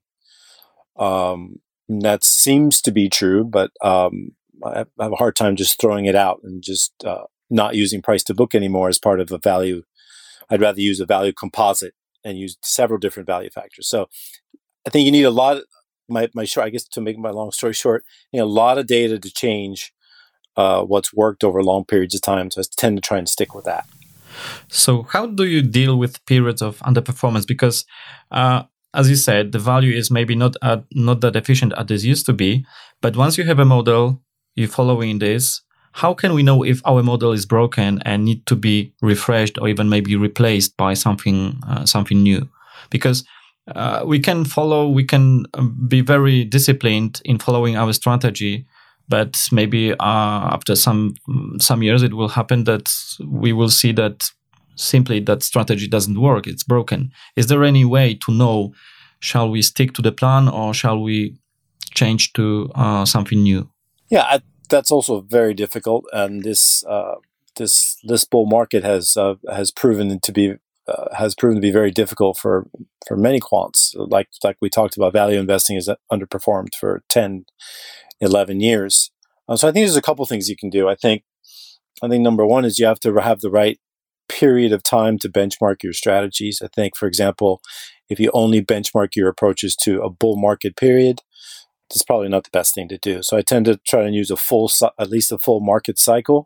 Um, that seems to be true, but um, I have a hard time just throwing it out and just uh, not using price to book anymore as part of a value. I'd rather use a value composite and use several different value factors. So I think you need a lot of, my, my short, I guess to make my long story short, you know, a lot of data to change uh, what's worked over long periods of time. So I tend to try and stick with that. So how do you deal with periods of underperformance? Because uh, as you said, the value is maybe not at, not that efficient as it used to be. But once you have a model, you're following this, how can we know if our model is broken and need to be refreshed or even maybe replaced by something uh, something new? Because uh, we can follow, we can be very disciplined in following our strategy, but maybe uh, after some some years it will happen that we will see that simply that strategy doesn't work, it's broken. Is there any way to know, shall we stick to the plan or shall we change to uh, something new? Yeah, I, that's also very difficult, and this uh, this this bull market has uh, has proven to be uh, has proven to be very difficult for for many quants. Like like we talked about, value investing has underperformed for ten, eleven years. Um, so I think there's a couple things you can do. I think I think number one is you have to have the right period of time to benchmark your strategies. I think, for example, if you only benchmark your approaches to a bull market period, it's probably not the best thing to do. So I tend to try and use a full, at least a full market cycle,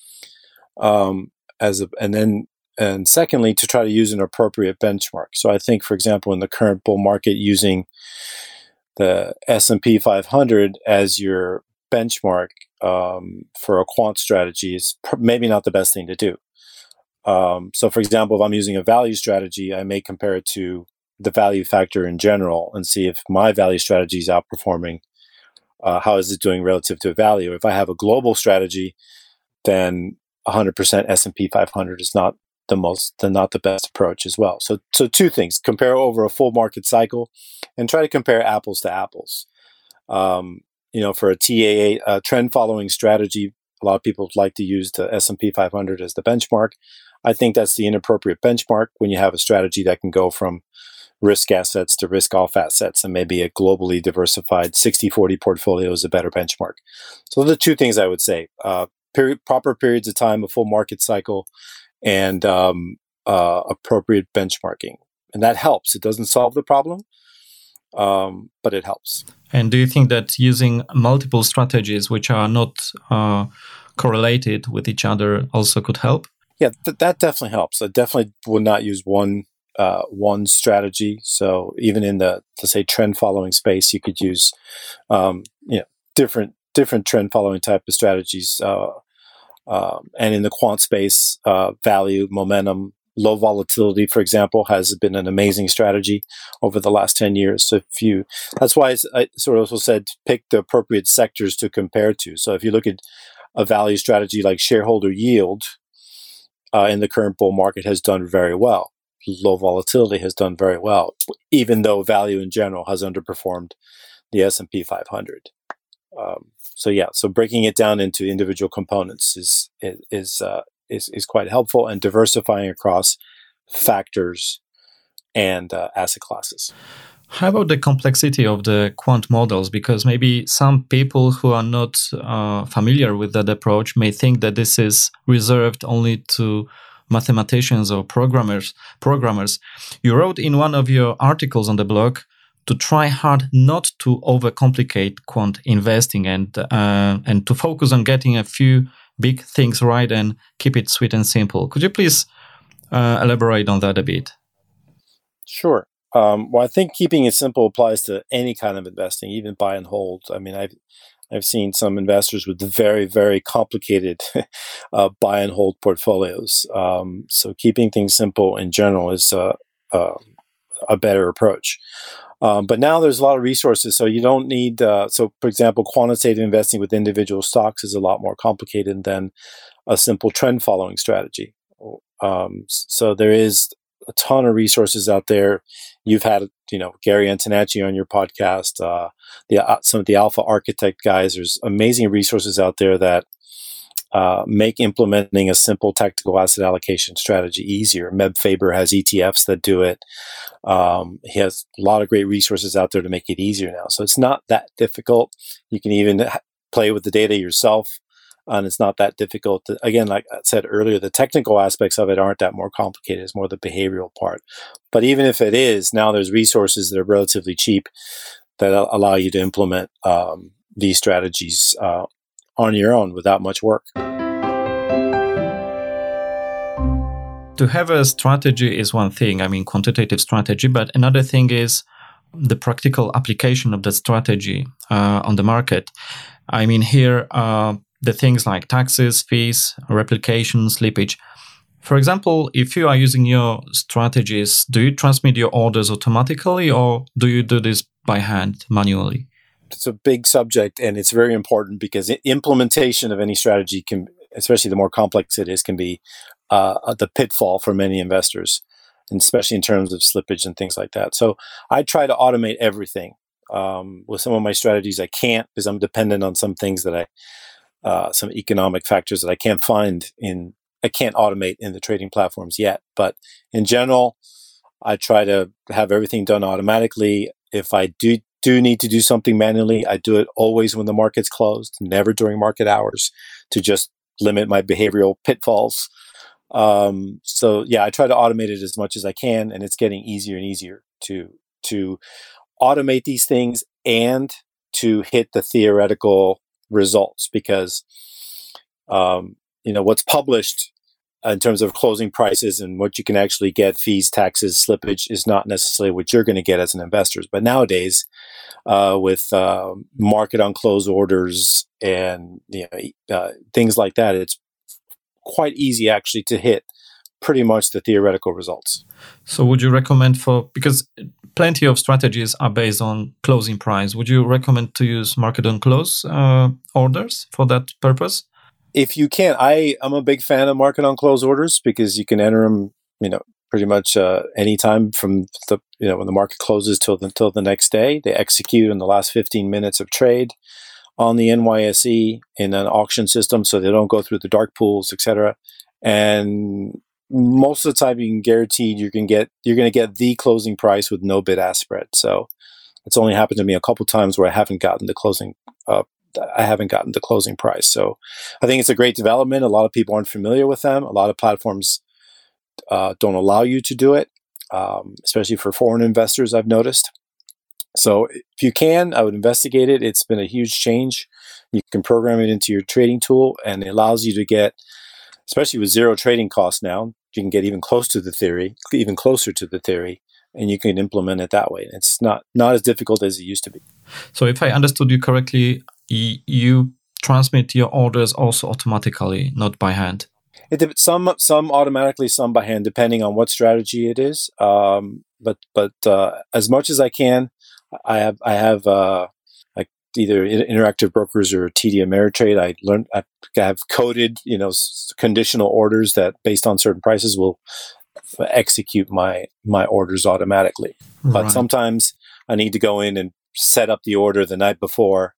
um, as a, and then, and secondly, to try to use an appropriate benchmark. So I think, for example, in the current bull market, using the S and P five hundred as your benchmark um, for a quant strategy is pr- maybe not the best thing to do. Um, so, for example, if I'm using a value strategy, I may compare it to the value factor in general and see if my value strategy is outperforming. Uh, how is it doing relative to value? If I have a global strategy, then one hundred percent S and P five hundred is not the most, the not the best approach as well. So, so two things: compare over a full market cycle, and try to compare apples to apples. Um, you know, for a T A A uh, trend following strategy, a lot of people like to use the S and P five hundred as the benchmark. I think that's the inappropriate benchmark when you have a strategy that can go from risk assets to risk off assets, and maybe a globally diversified sixty forty portfolio is a better benchmark. So those are the two things I would say: uh, period, proper periods of time, a full market cycle, and um, uh, appropriate benchmarking. And that helps. It doesn't solve the problem, um, but it helps. And do you think that using multiple strategies which are not uh, correlated with each other also could help? Yeah, th- that definitely helps. I definitely would not use one uh, one strategy. So even in the, to say, trend following space, you could use um, you know, different different trend following type of strategies. Uh, uh, and in the quant space, uh, value, momentum, low volatility, for example, has been an amazing strategy over the last ten years. So if you, that's why I sort of also said pick the appropriate sectors to compare to. So if you look at a value strategy like shareholder yield, Uh, in the current bull market has done very well. Low volatility has done very well, even though value in general has underperformed the S and P five hundred. Um, so yeah, so breaking it down into individual components is is uh, is is quite helpful, and diversifying across factors and uh, asset classes. How about the complexity of the quant models? Because maybe some people who are not uh, familiar with that approach may think that this is reserved only to mathematicians or programmers. Programmers. You wrote in one of your articles on the blog to try hard not to overcomplicate quant investing and uh, and to focus on getting a few big things right and keep it sweet and simple. Could you please uh, elaborate on that a bit? Sure. Um, well, I think keeping it simple applies to any kind of investing, even buy and hold. I mean, I've I've seen some investors with very, very complicated uh, buy and hold portfolios. Um, so keeping things simple in general is uh, uh, a better approach. Um, but now there's a lot of resources, so you don't need. Uh, so, for example, quantitative investing with individual stocks is a lot more complicated than a simple trend following strategy. Um, so there is a ton of resources out there. You've had you know, Gary Antonacci on your podcast, uh, the uh, some of the Alpha Architect guys. There's amazing resources out there that uh, make implementing a simple tactical asset allocation strategy easier. Meb Faber has E T Fs that do it. Um, he has a lot of great resources out there to make it easier now. So it's not that difficult. You can even ha- play with the data yourself. And it's not that difficult. To, again, like I said earlier, the technical aspects of it aren't that more complicated. It's more the behavioral part. But even if it is, now there's resources that are relatively cheap that allow you to implement um, these strategies uh, on your own without much work. To have a strategy is one thing, I mean, quantitative strategy, but another thing is the practical application of that strategy uh, on the market. I mean, here, uh, the things like taxes, fees, replication, slippage. For example, if you are using your strategies, do you transmit your orders automatically or do you do this by hand, manually? It's a big subject and it's very important because implementation of any strategy can, especially the more complex it is, can be uh, the pitfall for many investors, and especially in terms of slippage and things like that. So I try to automate everything. Um, with some of my strategies, I can't because I'm dependent on some things that I Uh, some economic factors that I can't find in, I can't automate in the trading platforms yet. But in general, I try to have everything done automatically. If I do, do need to do something manually, I do it always when the market's closed, never during market hours, to just limit my behavioral pitfalls. Um, so yeah, I try to automate it as much as I can, and it's getting easier and easier to, to automate these things and to hit the theoretical results, because um, you know what's published in terms of closing prices and what you can actually get, fees, taxes, slippage, is not necessarily what you're going to get as an investor. But nowadays, uh, with uh, market on close orders and you know, uh, things like that, it's quite easy actually to hit pretty much the theoretical results. So would you recommend for, because plenty of strategies are based on closing price, would you recommend to use market on close uh, orders for that purpose? If you can, I, I'm a big fan of market on close orders because you can enter them, you know, pretty much uh, anytime from the, you know, when the market closes till the, till the next day. They execute in the last fifteen minutes of trade on the N Y S E in an auction system, so they don't go through the dark pools, et cetera. And most of the time, you can guarantee you can get you're going to get the closing price with no bid-ask spread. So it's only happened to me a couple times where I haven't gotten the closing. Uh, I haven't gotten the closing price. So I think it's a great development. A lot of people aren't familiar with them. A lot of platforms uh, don't allow you to do it, um, especially for foreign investors, I've noticed. So if you can, I would investigate it. It's been a huge change. You can program it into your trading tool, and it allows you to get, especially with zero trading costs now, you can get even close to the theory, even closer to the theory, and you can implement it that way. It's not, not as difficult as it used to be. So if I understood you correctly, y- you transmit your orders also automatically, not by hand? It, some some automatically, some by hand, depending on what strategy it is. Um, but but uh, as much as I can, I have I have uh, like either Interactive Brokers or T D Ameritrade. I learned I have coded you know conditional orders that based on certain prices will execute my my orders automatically. Right. But sometimes I need to go in and set up the order the night before,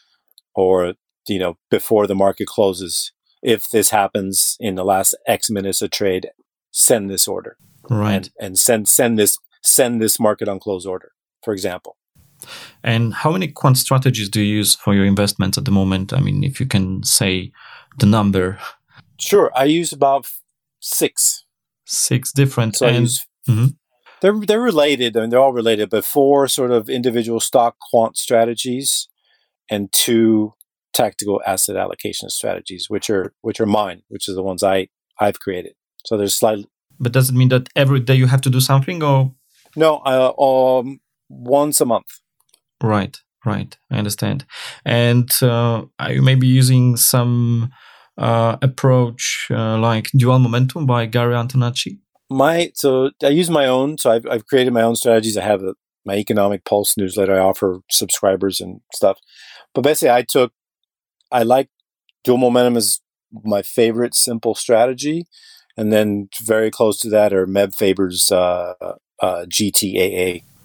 or you know before the market closes. If this happens in the last X minutes of trade, send this order, right? And, and send send this send this market on close order, for example. And how many quant strategies do you use for your investments at the moment? I mean, if you can say the number. Sure, I use about six. Six different. So and, I use, mm-hmm. They're they're related. I mean, they're all related, but four sort of individual stock quant strategies, and two tactical asset allocation strategies, which are which are mine, which are the ones I I've created. So there's slightly. But does it mean that every day you have to do something, or? No, uh, um, once a month. Right, right. I understand. And uh, are you maybe using some uh, approach uh, like Dual Momentum by Gary Antonacci? My so I use my own. So I've I've created my own strategies. I have a, my Economic Pulse newsletter. I offer subscribers and stuff. But basically, I took. I like Dual Momentum is my favorite simple strategy. And then very close to that are Meb Faber's uh, uh, G T A A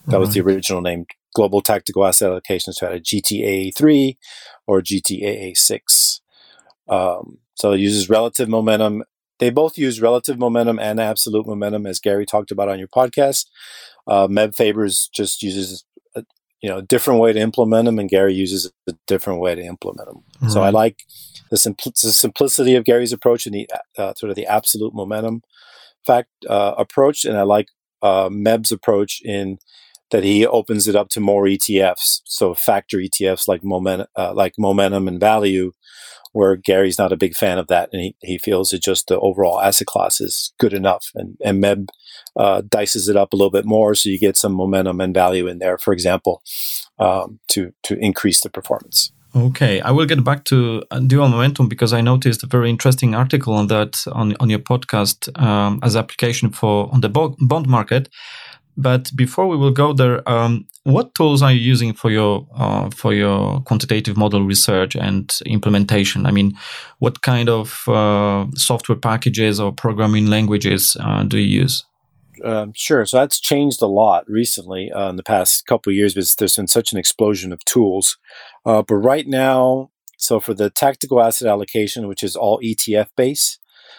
That was the original name, Global Tactical Asset Allocation Strategy, G T A A three or G T A A six. Um, so it uses relative momentum. They both use relative momentum and absolute momentum, as Gary talked about on your podcast. Uh, Meb Fabers just uses a, you know, a different way to implement them, and Gary uses a different way to implement them. Right. So I like the, simpl- the simplicity of Gary's approach and the uh, sort of the absolute momentum fact uh, approach, and I like uh, Meb's approach in that he opens it up to more E T Fs, so factor E T Fs like momentum, uh, like momentum and value, where Gary's not a big fan of that, and he, he feels that just the overall asset class is good enough. And, and Meb uh, dices it up a little bit more, so you get some momentum and value in there, for example, um, to to increase the performance. Okay, I will get back to dual momentum because I noticed a very interesting article on that on, on your podcast um, as application for on the bo- bond market. But before we will go there, um, what tools are you using for your uh, for your quantitative model research and implementation? I mean, what kind of uh, software packages or programming languages uh, do you use? Um, sure. So that's changed a lot recently uh, in the past couple of years, because there's been such an explosion of tools. Uh, but right now, so for the tactical asset allocation, which is all E T F based,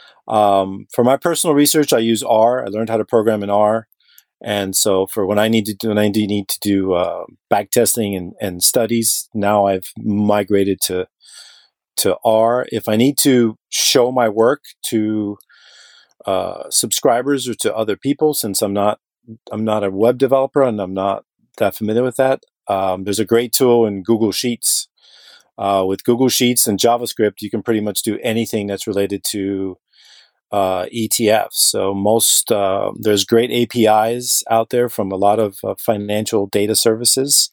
um, for my personal research, I use R. I learned how to program in R. And so for when I need to do, when I do need to do uh, back testing and, and studies, now I've migrated to to R. If I need to show my work to uh, subscribers or to other people, since I'm not I'm not a web developer and I'm not that familiar with that, um, there's a great tool in Google Sheets. Uh, with Google Sheets and JavaScript, you can pretty much do anything that's related to Uh, E T Fs. So most uh, there's great A P Is out there from a lot of uh, financial data services.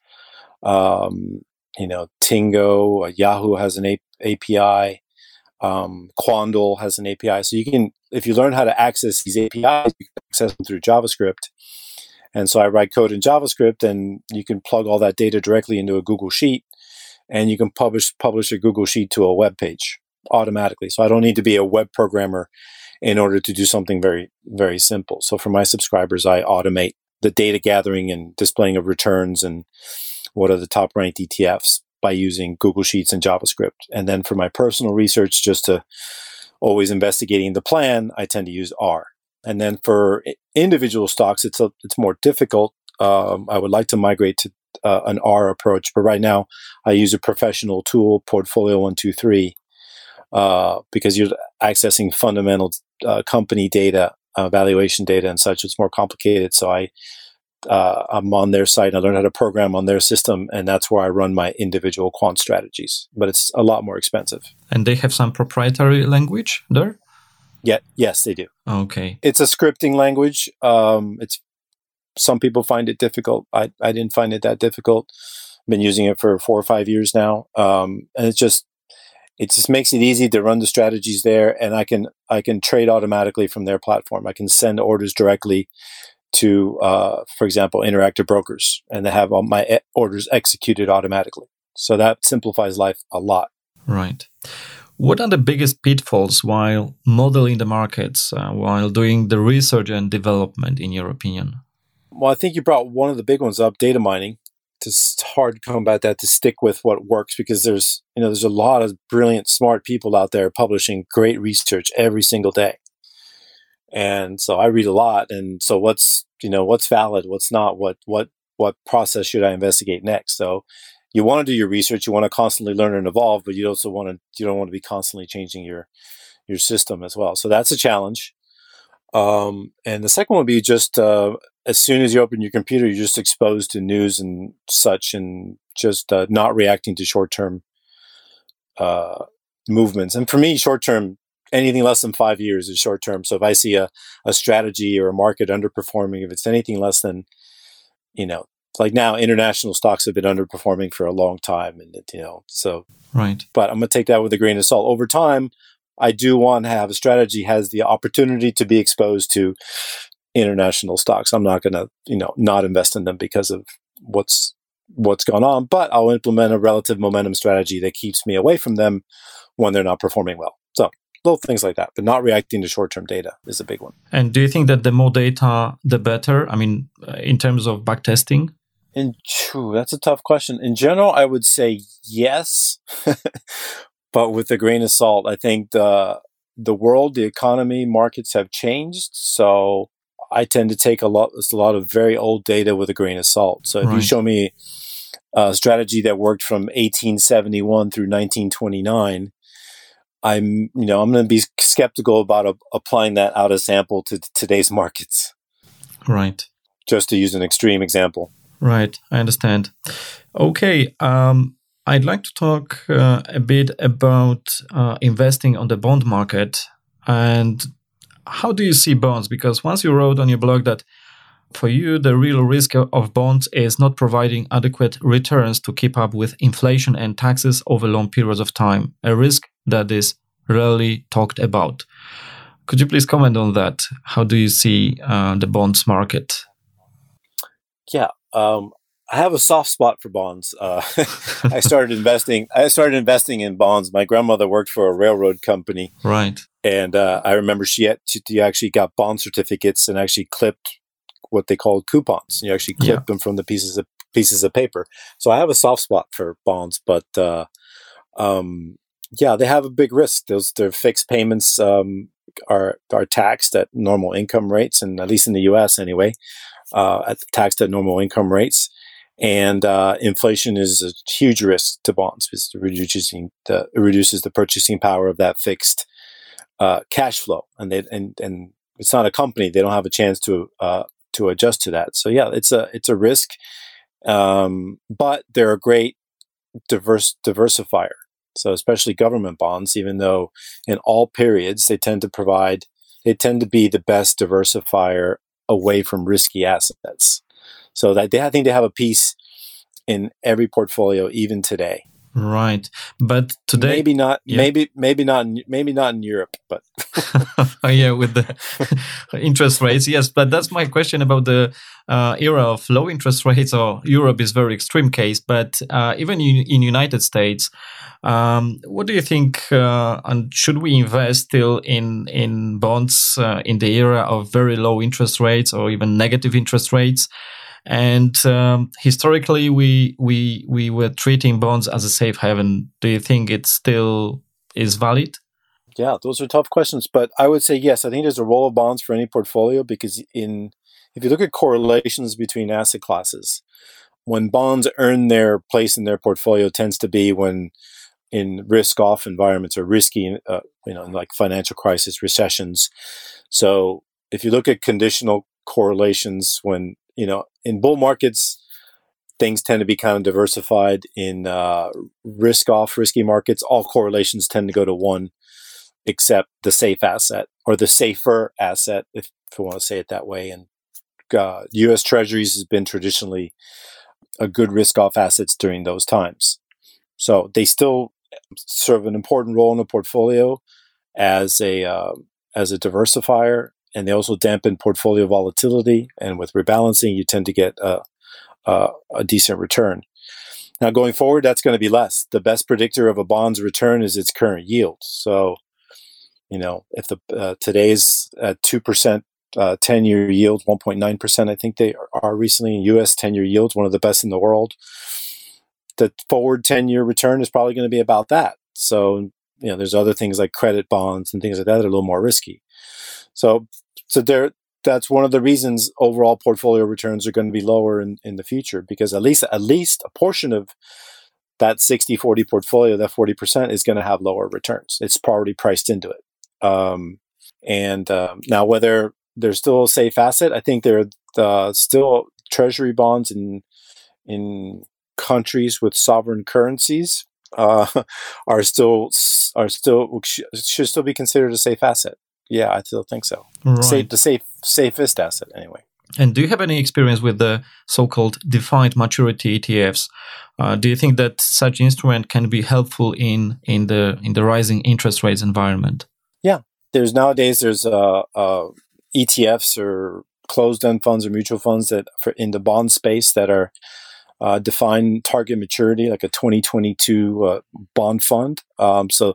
Um, you know, Tingo, uh, Yahoo has an A- API. Um, Quandl has an A P I. So you can, if you learn how to access these A P Is, you can access them through JavaScript. And so I write code in JavaScript, and you can plug all that data directly into a Google Sheet, and you can publish publish a Google Sheet to a web page automatically. So I don't need to be a web programmer in order to do something very, very simple. So for my subscribers, I automate the data gathering and displaying of returns and what are the top ranked E T Fs by using Google Sheets and JavaScript. And then for my personal research, just to always investigating the plan, I tend to use R. And then for individual stocks, it's a, it's more difficult. Um, I would like to migrate to uh, an R approach, but right now I use a professional tool, Portfolio one two three, uh, because you're accessing fundamental uh, company data, uh, valuation data and such. It's more complicated. So I, uh, I'm on their site and I learned how to program on their system, and that's where I run my individual quant strategies. But it's a lot more expensive. And they have some proprietary language there? Yeah, yes, they do. Okay. It's a scripting language. Um, it's some people find it difficult. I, I didn't find it that difficult. I've been using it for four or five years now. Um, and it's just, it just makes it easy to run the strategies there. And I can, I can trade automatically from their platform. I can send orders directly to, uh, for example, Interactive Brokers, and they have all my e- orders executed automatically. So that simplifies life a lot. Right. What are the biggest pitfalls while modeling the markets, uh, while doing the research and development, in your opinion? Well, I think you brought one of the big ones up, data mining. It's hard to combat that, to stick with what works, because there's, you know, there's a lot of brilliant, smart people out there publishing great research every single day. And so I read a lot. And so what's, you know, what's valid, what's not, what, what, what process should I investigate next? So you want to do your research, you want to constantly learn and evolve, but you also want to, you don't want to be constantly changing your, your system as well. So that's a challenge. Um, and the second one would be just, uh, as soon as you open your computer, you're just exposed to news and such, and just uh, not reacting to short-term uh, movements. And for me, short-term, anything less than five years is short-term. So if I see a, a strategy or a market underperforming, if it's anything less than, you know, like now, international stocks have been underperforming for a long time, and you know, so right. But I'm gonna take that with a grain of salt. Over time, I do want to have a strategy has the opportunity to be exposed to international stocks. I'm not gonna, you know, not invest in them because of what's what's gone on, but I'll implement a relative momentum strategy that keeps me away from them when they're not performing well. So little things like that, but not reacting to short-term data is a big one. And do you think that the more data, the better? I mean, in terms of backtesting? In true, that's a tough question. In general, I would say yes, but with a grain of salt. I think the the world, the economy, markets have changed, so I tend to take a lot a lot of very old data with a grain of salt. So if Right. you show me a strategy that worked from eighteen seventy-one through nineteen twenty-nine, I'm you know I'm going to be skeptical about a, applying that out of sample to t- today's markets. Right. Just to use an extreme example. Right, I understand. Okay, um, I'd like to talk uh, a bit about uh, investing on the bond market. And how do you see bonds? Because once you wrote on your blog that for you, the real risk of bonds is not providing adequate returns to keep up with inflation and taxes over long periods of time, a risk that is rarely talked about. Could you please comment on that? How do you see uh, the bonds market? Yeah. Um, I have a soft spot for bonds. Uh, I started investing. I started investing in bonds. My grandmother worked for a railroad company, Right. and uh, I remember she, had, she actually got bond certificates and actually clipped what they called coupons. You actually clip Yeah. them from the pieces of pieces of paper. So I have a soft spot for bonds, but uh, um, yeah, they have a big risk. Those their fixed payments um, are are taxed at normal income rates, and at least in the U S anyway, uh, at taxed at normal income rates. And uh, inflation is a huge risk to bonds because it reduces the it reduces the purchasing power of that fixed uh, cash flow, and they and and it's not a company; they don't have a chance to uh, to adjust to that. So yeah, it's a it's a risk, um, but they're a great diverse diversifier. So especially government bonds, even though in all periods they tend to provide, they tend to be the best diversifier away from risky assets. So that they, I think they have a piece in every portfolio, even today. Right, but today maybe not, yeah. maybe maybe not, in, maybe not in Europe, but oh, yeah, with the interest rates, yes. But that's my question about the uh, era of low interest rates. Or Europe is very extreme case, but uh, even in, in United States, um, what do you think? Uh, and should we invest still in in bonds uh, in the era of very low interest rates or even negative interest rates? And um, historically, we we we were treating bonds as a safe haven. Do you think it still is valid? Yeah, those are tough questions, but I would say yes. I think there's a role of bonds for any portfolio because in if you look at correlations between asset classes, when bonds earn their place in their portfolio tends to be when in risk-off environments or risky, uh, you know, like financial crisis, recessions. So if you look at conditional correlations when you know, in bull markets, things tend to be kind of diversified. In uh, risk-off, risky markets, all correlations tend to go to one, except the safe asset or the safer asset, if, if we want to say it that way. And uh, U S Treasuries has been traditionally a good risk-off assets during those times. So they still serve an important role in the portfolio as a uh, as a diversifier. And they also dampen portfolio volatility. And with rebalancing, you tend to get a, a, a decent return. Now, going forward, that's going to be less. The best predictor of a bond's return is its current yield. So, you know, if the uh, today's at two percent uh, ten-year yield, one point nine percent, I think they are recently in U S ten-year yields, one of the best in the world. The forward ten-year return is probably going to be about that. So, you know, there's other things like credit bonds and things like that that are a little more risky. So, so there, that's one of the reasons overall portfolio returns are going to be lower in, in the future, because at least at least a portion of that sixty forty portfolio, that forty percent is going to have lower returns. It's already priced into it. Um, and um, now whether they're still a safe asset, I think they're uh, still treasury bonds in in countries with sovereign currencies uh, are still are still should still be considered a safe asset. Yeah, I still think so. Right. Safe, the safe, safest asset, anyway. And do you have any experience with the so-called defined maturity E T Fs? Uh, do you think that such instrument can be helpful in in the in the rising interest rates environment? Yeah, there's nowadays there's uh, uh, E T Fs or closed-end funds or mutual funds that for in the bond space that are uh, defined target maturity, like a twenty twenty-two uh, bond fund. Um, so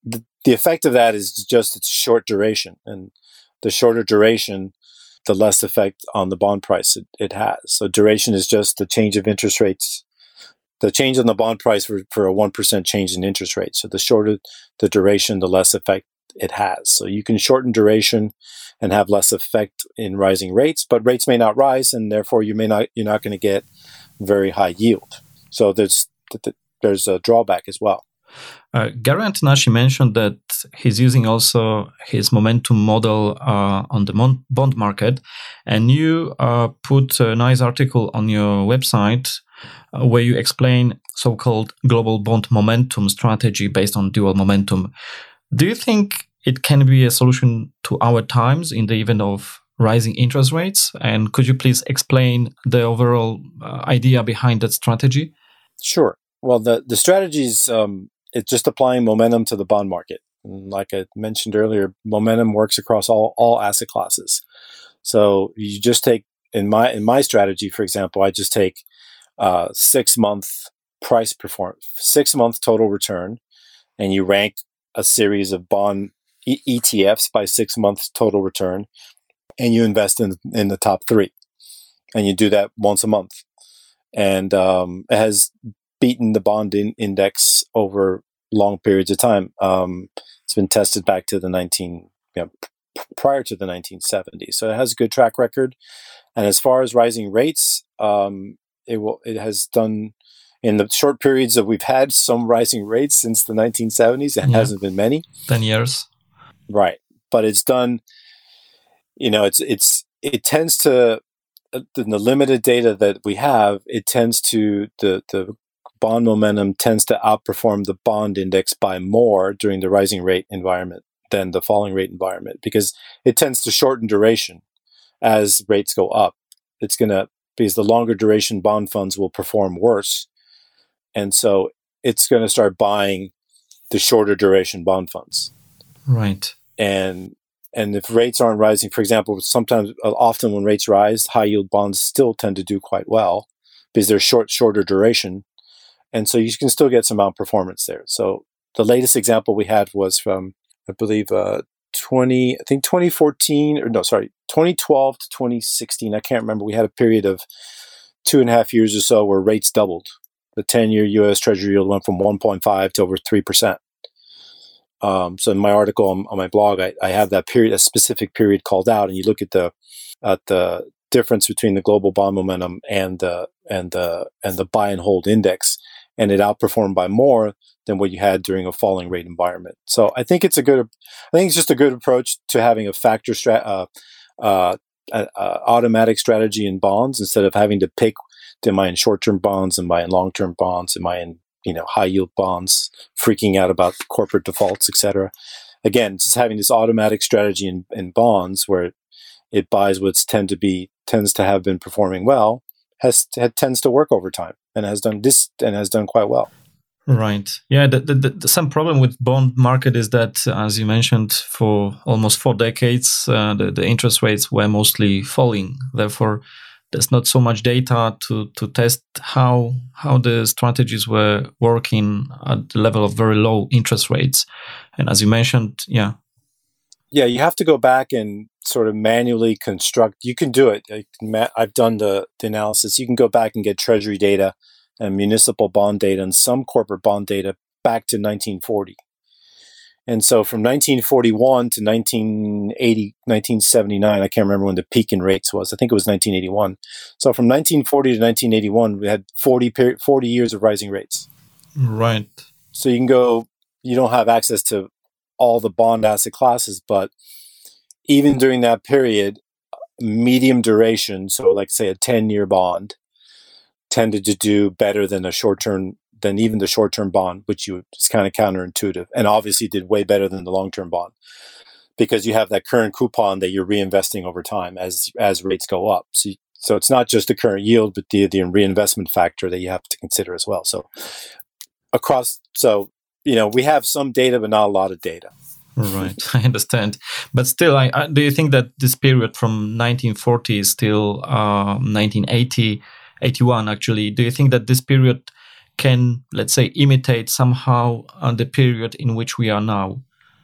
the, the effect of that is just its short duration. And the shorter duration, the less effect on the bond price it, it has. So duration is just the change of interest rates, the change on the bond price for, for a one percent change in interest rates. So the shorter the duration, the less effect it has. So you can shorten duration and have less effect in rising rates, but rates may not rise, and therefore you may not, you're not going to get very high yield. So there's there's a drawback as well. Uh, Gary Antonashi mentioned that he's using also his momentum model uh, on the mon- bond market, and you uh, put a nice article on your website uh, where you explain so-called global bond momentum strategy based on dual momentum. Do you think it can be a solution to our times in the event of rising interest rates? And could you please explain the overall uh, idea behind that strategy? Sure. Well, the, the strategy is um, it's just applying momentum to the bond market. And like I mentioned earlier, momentum works across all, all asset classes. So you just take, in my in my strategy, for example, I just take uh, six month price performance, six month total return, and you rank a series of bond e- ETFs by six months total return, and you invest in in the top three, and you do that once a month, and um, it has beaten the bond in- index over long periods of time. Um, it's been tested back to the nineteen you know, p- prior to the nineteen seventies, so it has a good track record. And as far as rising rates, um, it will it has done. In the short periods that we've had some rising rates since the nineteen seventies, it yeah. hasn't been many. ten years. Right. But it's done, you know, it's, it's, it tends to, in the limited data that we have, it tends to, the, the bond momentum tends to outperform the bond index by more during the rising rate environment than the falling rate environment, because it tends to shorten duration as rates go up. It's going to, because the longer duration bond funds will perform worse. And so it's going to start buying the shorter duration bond funds. Right. And and if rates aren't rising, for example, sometimes, uh, often when rates rise, high yield bonds still tend to do quite well because they're short, shorter duration. And so you can still get some outperformance there. So the latest example we had was from, I believe, uh, twenty, I think twenty fourteen, or no, sorry, twenty twelve to twenty sixteen. I can't remember. We had a period of two and a half years or so where rates doubled. The ten-year U S Treasury yield went from one point five to over three percent. Um, so in my article on, on my blog, I, I have that period, a specific period called out, and you look at the at the difference between the global bond momentum and the and the and the buy and hold index, and it outperformed by more than what you had during a falling rate environment. So I think it's a good, I think it's just a good approach to having a factor strat, uh, uh, uh, automatic strategy in bonds instead of having to pick. Am I in short-term bonds? Am I in long-term bonds? Am I in, you know, high-yield bonds? Freaking out about corporate defaults, et cetera. Again, just having this automatic strategy in, in bonds where it buys what's tend to be tends to have been performing well has tends to work over time and has done this and has done quite well. Right. Yeah. The, the, the some problem with bond market is that, as you mentioned, for almost four decades, uh, the, the interest rates were mostly falling. Therefore, there's not so much data to, to test how how the strategies were working at the level of very low interest rates. And as you mentioned, yeah. Yeah, you have to go back and sort of manually construct. You can do it. I've done the, the analysis. You can go back and get treasury data and municipal bond data and some corporate bond data back to nineteen forty. And so from nineteen forty-one to nineteen eighty, nineteen seventy-nine, I can't remember when the peak in rates was. I think it was nineteen eighty-one. So from nineteen forty to nineteen eighty-one, we had forty, forty years of rising rates. Right. So you can go, you don't have access to all the bond asset classes, but even during that period, medium duration, so like say a ten-year bond, tended to do better than a short-term than even the short-term bond, which you it's kind of counterintuitive, and obviously did way better than the long-term bond because you have that current coupon that you're reinvesting over time as as rates go up. So, so it's not just the current yield, but the the reinvestment factor that you have to consider as well. So across, so you know, we have some data, but not a lot of data. Right, I understand. But still, I, I do you think that this period from nineteen forty is still uh, nineteen eighty, eighty-one actually? Do you think that this period can, let's say, imitate somehow uh, the period in which we are now,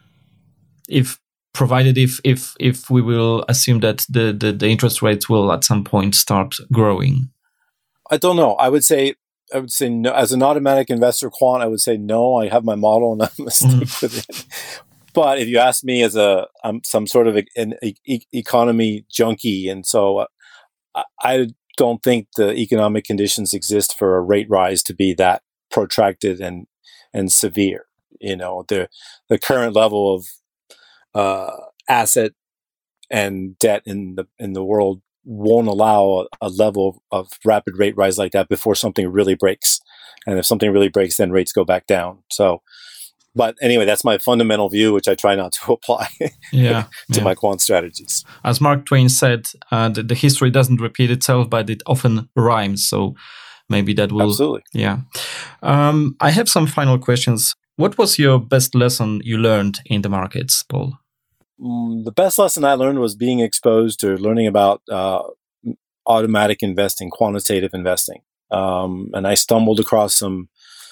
if provided if if if we will assume that the, the, the interest rates will at some point start growing? I don't know. I would say I would say no. As an automatic investor quant, I would say no. I have my model and I'm going to stick mm. with it. But if you ask me as a um, some sort of a, an e- economy junkie, and so uh, I, I don't think the economic conditions exist for a rate rise to be that protracted and and severe. You know, the the current level of uh, asset and debt in the in the world won't allow a, a level of rapid rate rise like that before something really breaks. And if something really breaks, then rates go back down. So, but anyway, that's my fundamental view, which I try not to apply yeah, to yeah. my quant strategies. As Mark Twain said, uh, the, the history doesn't repeat itself, but it often rhymes. So maybe that will... Absolutely. Yeah. Um, I have some final questions. What was your best lesson you learned in the markets, Paul? Mm, the best lesson I learned was being exposed to learning about uh, automatic investing, quantitative investing. Um, and I stumbled across some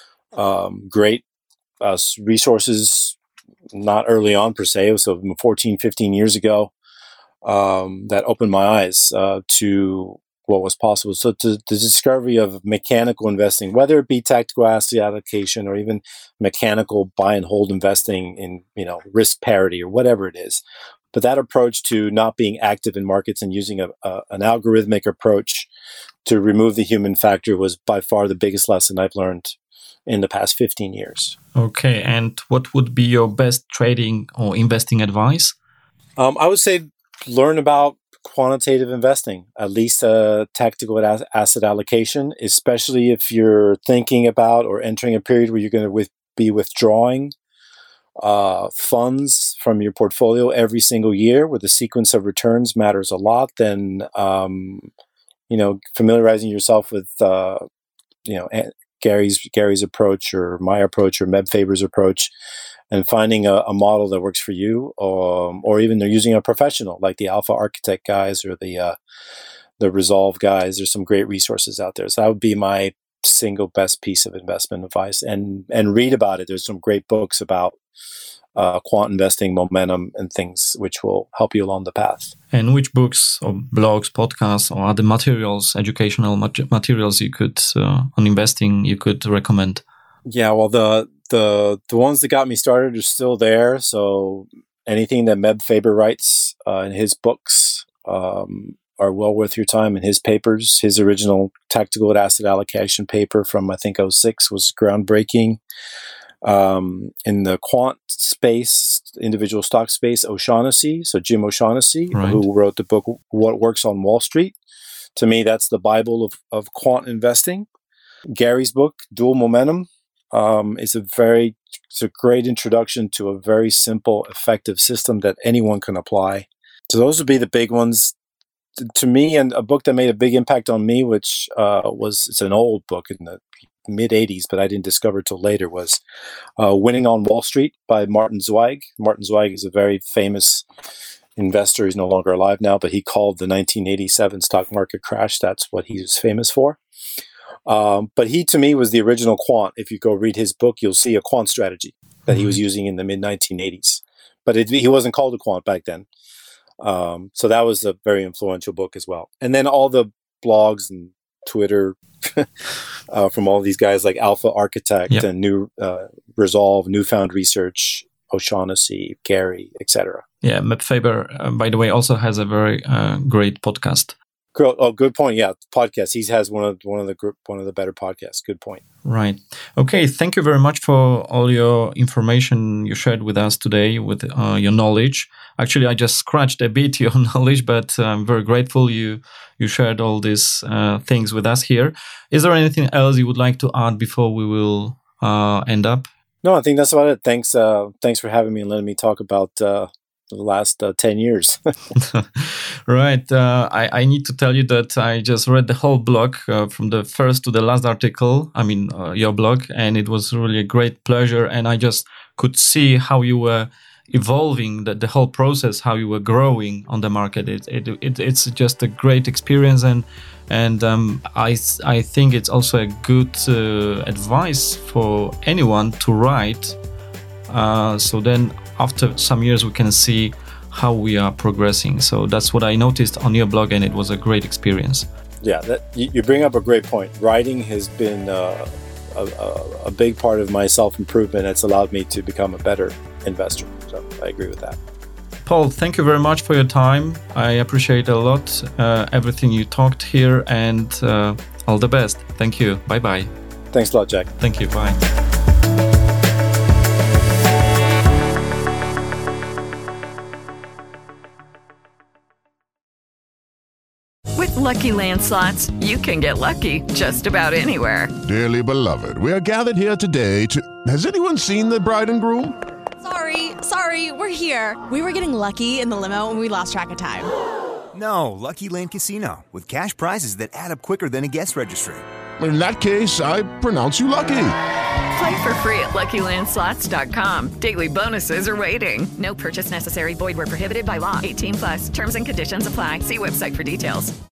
um, great uh, resources, not early on per se, so fourteen, fifteen years ago, um, that opened my eyes uh, to what was possible. So to the discovery of mechanical investing, whether it be tactical asset allocation or even mechanical buy and hold investing in, you know, risk parity or whatever it is. But that approach to not being active in markets and using a, a, an algorithmic approach to remove the human factor was by far the biggest lesson I've learned in the past fifteen years. Okay. And what would be your best trading or investing advice? Um, I would say learn about quantitative investing, at least uh, tactical as- asset allocation, especially if you're thinking about or entering a period where you're going to with- be withdrawing uh, funds from your portfolio every single year, where the sequence of returns matters a lot. Then, um, you know, familiarizing yourself with, uh, you know, Gary's Gary's approach or my approach or Meb Faber's approach, and finding a, a model that works for you, um, or even they're using a professional like the Alpha Architect guys or the uh, the Resolve guys. There's some great resources out there. So that would be my single best piece of investment advice. And and read about it. There's some great books about uh, quant investing, momentum, and things which will help you along the path. And which books or blogs, podcasts, or other materials, educational mat- materials you could uh, on investing you could recommend? Yeah, well, the the the ones that got me started are still there. So anything that Meb Faber writes uh, in his books um, are well worth your time. In his papers, his original tactical asset allocation paper from I think oh six was groundbreaking. Um, in the quant space, individual stock space, O'Shaughnessy, so Jim O'Shaughnessy, right, who wrote the book What Works on Wall Street. To me, that's the Bible of, of quant investing. Gary's book, Dual Momentum, um, is a very, it's a great introduction to a very simple, effective system that anyone can apply. So those would be the big ones. To, to me, and a book that made a big impact on me, which uh, was, it's an old book in the mid eighties, but I didn't discover it till later, was uh, Winning on Wall Street by Martin Zweig. Martin Zweig is a very famous investor. He's no longer alive now, but he called the nineteen eighty-seven stock market crash. That's what he was famous for. Um, but he, to me, was the original quant. If you go read his book, you'll see a quant strategy that he was using in the mid nineteen eighties. But it, he wasn't called a quant back then. Um, so that was a very influential book as well. And then all the blogs and Twitter uh, from all these guys like Alpha Architect yep. and New uh, Resolve, Newfound Research, O'Shaughnessy, Gary, et cetera. Yeah, Meb Faber, uh, by the way, also has a very uh, great podcast. Girl, oh, good point. Yeah, podcast. He has one of one of the group, one of the better podcasts. Good point. Right. Okay. Thank you very much for all your information you shared with us today, with uh, your knowledge. Actually, I just scratched a bit your knowledge, but I'm very grateful you you shared all these uh, things with us here. Is there anything else you would like to add before we will uh, end up? No, I think that's about it. Thanks. Uh, thanks for having me and letting me talk about uh, the last uh, ten years. Right. Uh, I, I need to tell you that I just read the whole blog uh, from the first to the last article. I mean, uh, your blog, and it was really a great pleasure. And I just could see how you were evolving, the, the whole process, how you were growing on the market. It, it, it It's just a great experience. And And um, I, I think it's also a good uh, advice for anyone to write. Uh, so then after some years, we can see how we are progressing. So that's what I noticed on your blog, and it was a great experience. Yeah, that, you, you bring up a great point. Writing has been uh, a, a, a big part of my self-improvement. It's allowed me to become a better investor. So I agree with that. Paul, thank you very much for your time. I appreciate a lot uh, everything you talked here, and uh, all the best. Thank you. Bye-bye. Thanks a lot, Jack. Thank you. Bye. With Lucky Land Slots, you can get lucky just about anywhere. Dearly beloved, we are gathered here today to... Has anyone seen the bride and groom? Sorry, sorry, we're here. We were getting lucky in the limo and we lost track of time. No, Lucky Land Casino, with cash prizes that add up quicker than a guest registry. In that case, I pronounce you lucky. Play for free at Lucky Land Slots dot com. Daily bonuses are waiting. No purchase necessary. Void where prohibited by law. eighteen plus. Terms and conditions apply. See website for details.